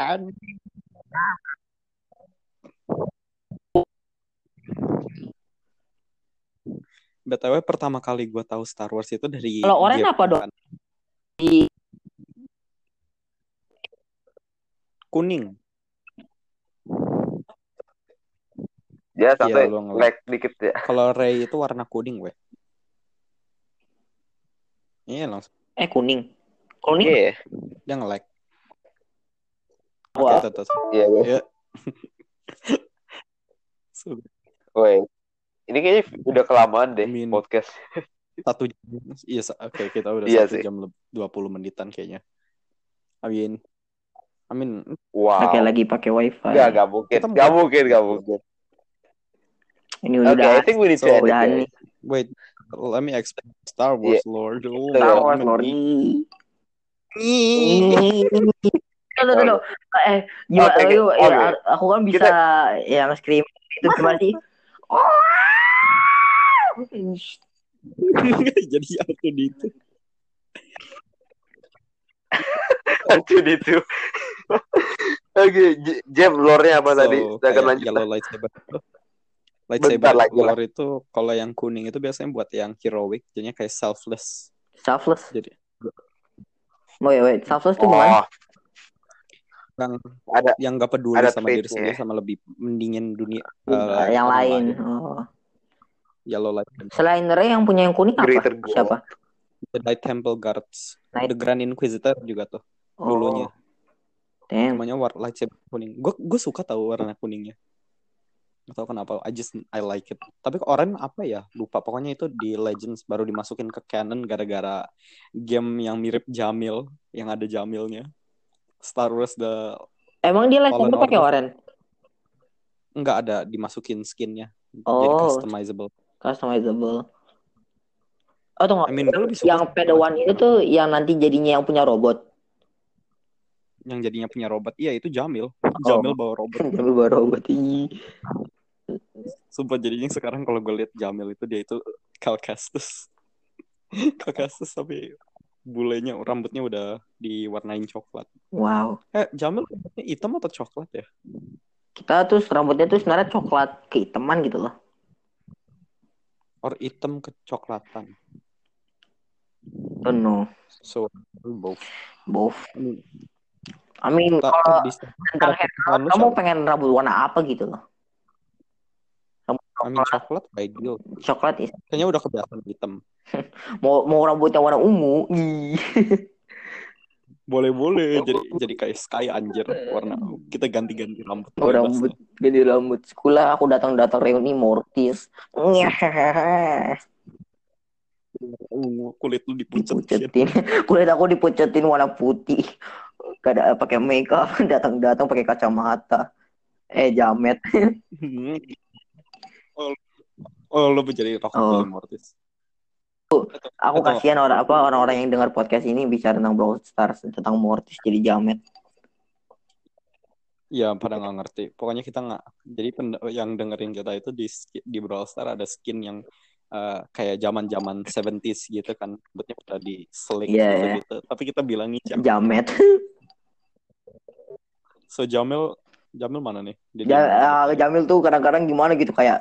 B T W pertama kali gue tahu Star Wars itu dari Kalau oranye game apa dong? kan. Di Kuning. Dia sampai Iya, lu nge-lag. lag dikit ya. Kalau Rey itu warna kuning, weh. Iya langsung. eh kuning. Kuning. Iya. Dia nge-lag. Oke, Wah. tuh, tuh, tuh. Iya, guys. Ya. Sudah. Woi. Ini kayaknya udah kelamaan deh Min. podcast. Satu jam. Iya, sa- oke kita udah Iya satu sih. jam leb- dua puluh menitan kayaknya. Amin. Amin. Wow. Pakai lagi pakai wifi. Enggak, enggak mungkin. Kita Enggak mau- mungkin, enggak mungkin. Ini Oke, udah. I think we need to So, end it, udah guys. nih. Wait, let me explain Star Wars Lord. Oh, Star Iya. Wars amin. Lord. Ih. Tunggu, tunggu. Eh, gimana? Oke, Yuk, oke. ya, aku kan bisa yang scream itu gimana sih? Jadi aku di itu. Lanjut itu. Oke, J- Jam, lore-nya apa tadi? So, Kita akan kayak lanjut. yellow lightsaber. Bentar Lightsaber lagi lah. lore itu kalau yang kuning itu biasanya buat yang heroic, jadinya kayak selfless. Selfless. Jadi Wait, wait. Selfless tuh gimana? Oh, yang ada yang gak peduli ada sama diri trait-nya. sendiri sama lebih mendingin dunia Uh, eh, yang orang lain. Oh. Yellow lightsaber. Selain Rey yang punya yang kuning apa? Greater goal. Siapa? Jedi Temple Guards. Night. The Grand Inquisitor juga tuh Oh. dulunya. Damn. Namanya war lightsaber kuning. Gue gue suka tahu warna kuningnya. Gak tau kenapa. I just I like it. Tapi orang apa ya? Lupa. Pokoknya itu di Legends baru dimasukin ke canon gara-gara game yang mirip Jamil, yang ada Jamilnya. Star Wars the Emang dia lightsaber Fallen pakai Order. oranye? Enggak ada dimasukin skinnya. Jadi Oh. customizable. Customizable. Oh, tunggu. I mean, gue lebih suka Yang Padawan itu tuh yang nanti jadinya yang punya robot. yang jadinya punya robot. Iya itu Jamil. Oh. Jamil bawa robot. Tapi baru robot ini. Sumpah jadinya sekarang kalau gue liat Jamil itu dia itu Cal Kestis. Cal Kestis tapi bulenya rambutnya udah diwarnain coklat. Wow. Eh Jamil rambutnya hitam atau coklat ya? Kita tuh rambutnya tuh sebenarnya coklat kehitaman gitu loh. Or hitam kecoklatan. Oh no. So both. Both. I mean, I mean, tak- kalau di- tentang hair perasaan lu kamu siapa? pengen rambut warna apa gitu loh? Rambut I mean, coklat, coklat ideal. coklat is. Kayaknya udah kebiasaan hitam. Mau mau rambutnya warna ungu. Ih. Boleh-boleh jadi jadi kayak Sky anjir warna. Kita ganti-ganti rambut. Oh, Bebas rambut, lah. ganti rambut. Sekolah aku datang-datang reuni Mortis. Ungu, kulit lu dipucetin. Dipucetin. Kulit aku dipucetin warna putih. Kada pakai makeup, datang-datang pakai kacamata. Eh, jamet. oh, oh lu menjadi Rock Oh. Mortis. Aku Atau- kasihan orang apa orang-orang yang dengar podcast ini bicara tentang Brawl Stars, tentang Mortis jadi jamet. Ya pada nggak ngerti. Pokoknya kita nggak. Jadi pen- yang dengerin kita itu di ski- di Brawl Stars ada skin yang uh, kayak zaman-zaman tujuh puluhan gitu kan. Rambutnya udah di slick Iya, gitu, iya. gitu. Tapi kita bilangin jam. Jamet. So Jamil Jamil mana nih? Dia Ja, di- ah, Jamil tuh kadang-kadang gimana gitu kayak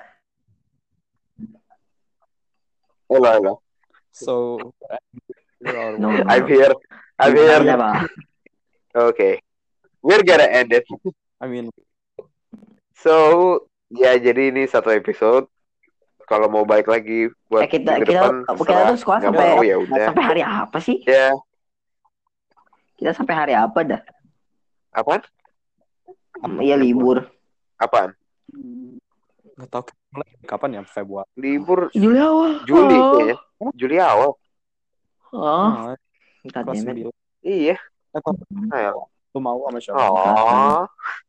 Hello, hello. So we are No, one. no. I'm here. I'm gimana, here. Pak? Okay. We're gonna end it. I mean So, ya jadi ini satu episode. Kalau mau balik lagi buat Eh, kita minggu kita depan, kita terserah. tuh sekolah Nggak sampai mau, ya udah. sampai hari apa sih? Ya, Kita sampai hari apa dah? apaan? Iya libur. Apaan? Nggak tahu mulai kapan ya, Februari. Libur Juli awal. Juli Oh. kayaknya. Juli awal. Oh, Nah, God kelas damn it. sembilan. Iya. Eh, kok Ayo. lu mau sama siapa? Oh.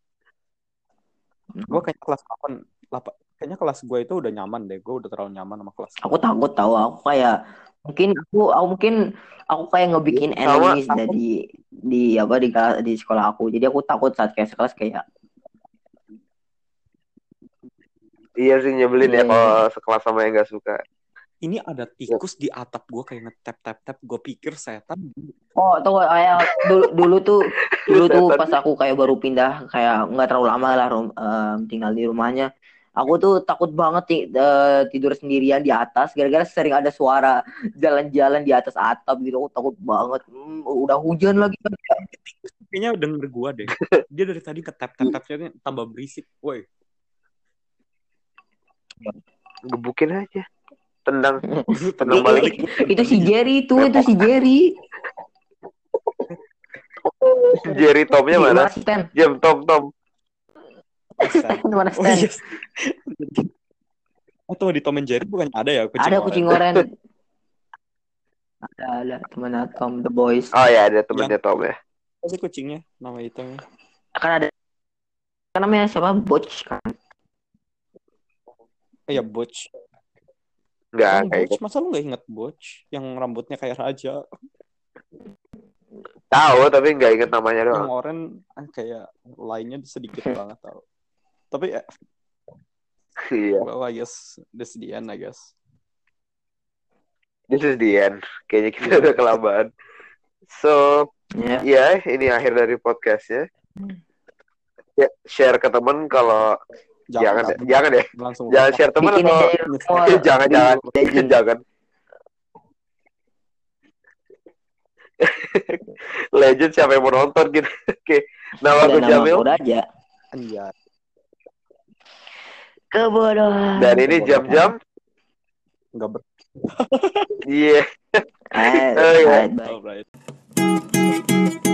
Gue kayaknya kelas delapan, delapan. Kayaknya kelas gue itu udah nyaman deh. Gue udah terlalu nyaman sama kelas. Aku takut tahu aku kayak mungkin aku aku mungkin aku kayak ngebikin Sama enemies aku. dari di apa di di sekolah aku. Jadi aku takut saat kayak sekelas kayak Iya sih nyebelin ya Iya. kalau sekelas sama yang gak suka. Ini ada tikus di atap gue kayak ngetap tap tap. Gue pikir setan. oh tuh kayak dulu dulu tuh dulu tuh Setan. pas aku kayak baru pindah kayak nggak terlalu lama lah rum- em, tinggal di rumahnya. Aku tuh takut banget ti- eh, tidur sendirian di atas gara-gara sering ada suara jalan-jalan di atas atap gitu. Aku takut banget. Hmm, udah hujan lagi kan. Kayaknya denger gue deh. Dia dari tadi ngetap tap tapnya tambah berisik. Woi. Gebukin aja. Tendang. Tendang balik. Itu si Jerry itu, itu si Jerry. Jerry Tomnya Di mana? mana Stan? Jam Tom Tom. Mana Oh Stan? iya. Oh tuh di Tom and Jerry bukannya ada ya kucing Ada oren? kucing oren. Ada ada temannya Tom the Boys. Oh ya ada temennya Yang- Tom ya. Apa sih kucingnya? Nama hitamnya. Kan ada kan namanya siapa? Butch kan. Eh ya Butch. Enggak Orang kayak Butch, masa lu gak inget Butch? Yang rambutnya kayak raja. tahu tapi nggak inget namanya Yang doang. oren ah, kayak lainnya sedikit banget tau. Tapi ya, Iya. well I guess this the end I guess. This is the end. Kayaknya kita Iya. udah kelamaan. So Ya. ya ini akhir dari podcastnya. Ya, share ke temen kalau jangan Jangan, jangan ya langsung jangan share temen Bikin atau aja rumor. jangan jangan Legend. jangan legend siapa yang mau nonton gitu. Oke nama Dan aku nama Jamil aku aja. Anjay. Kebodohan. dan ini jam-jam Enggak ber. iya Alright, Oh, iya. alright, bye. Alright.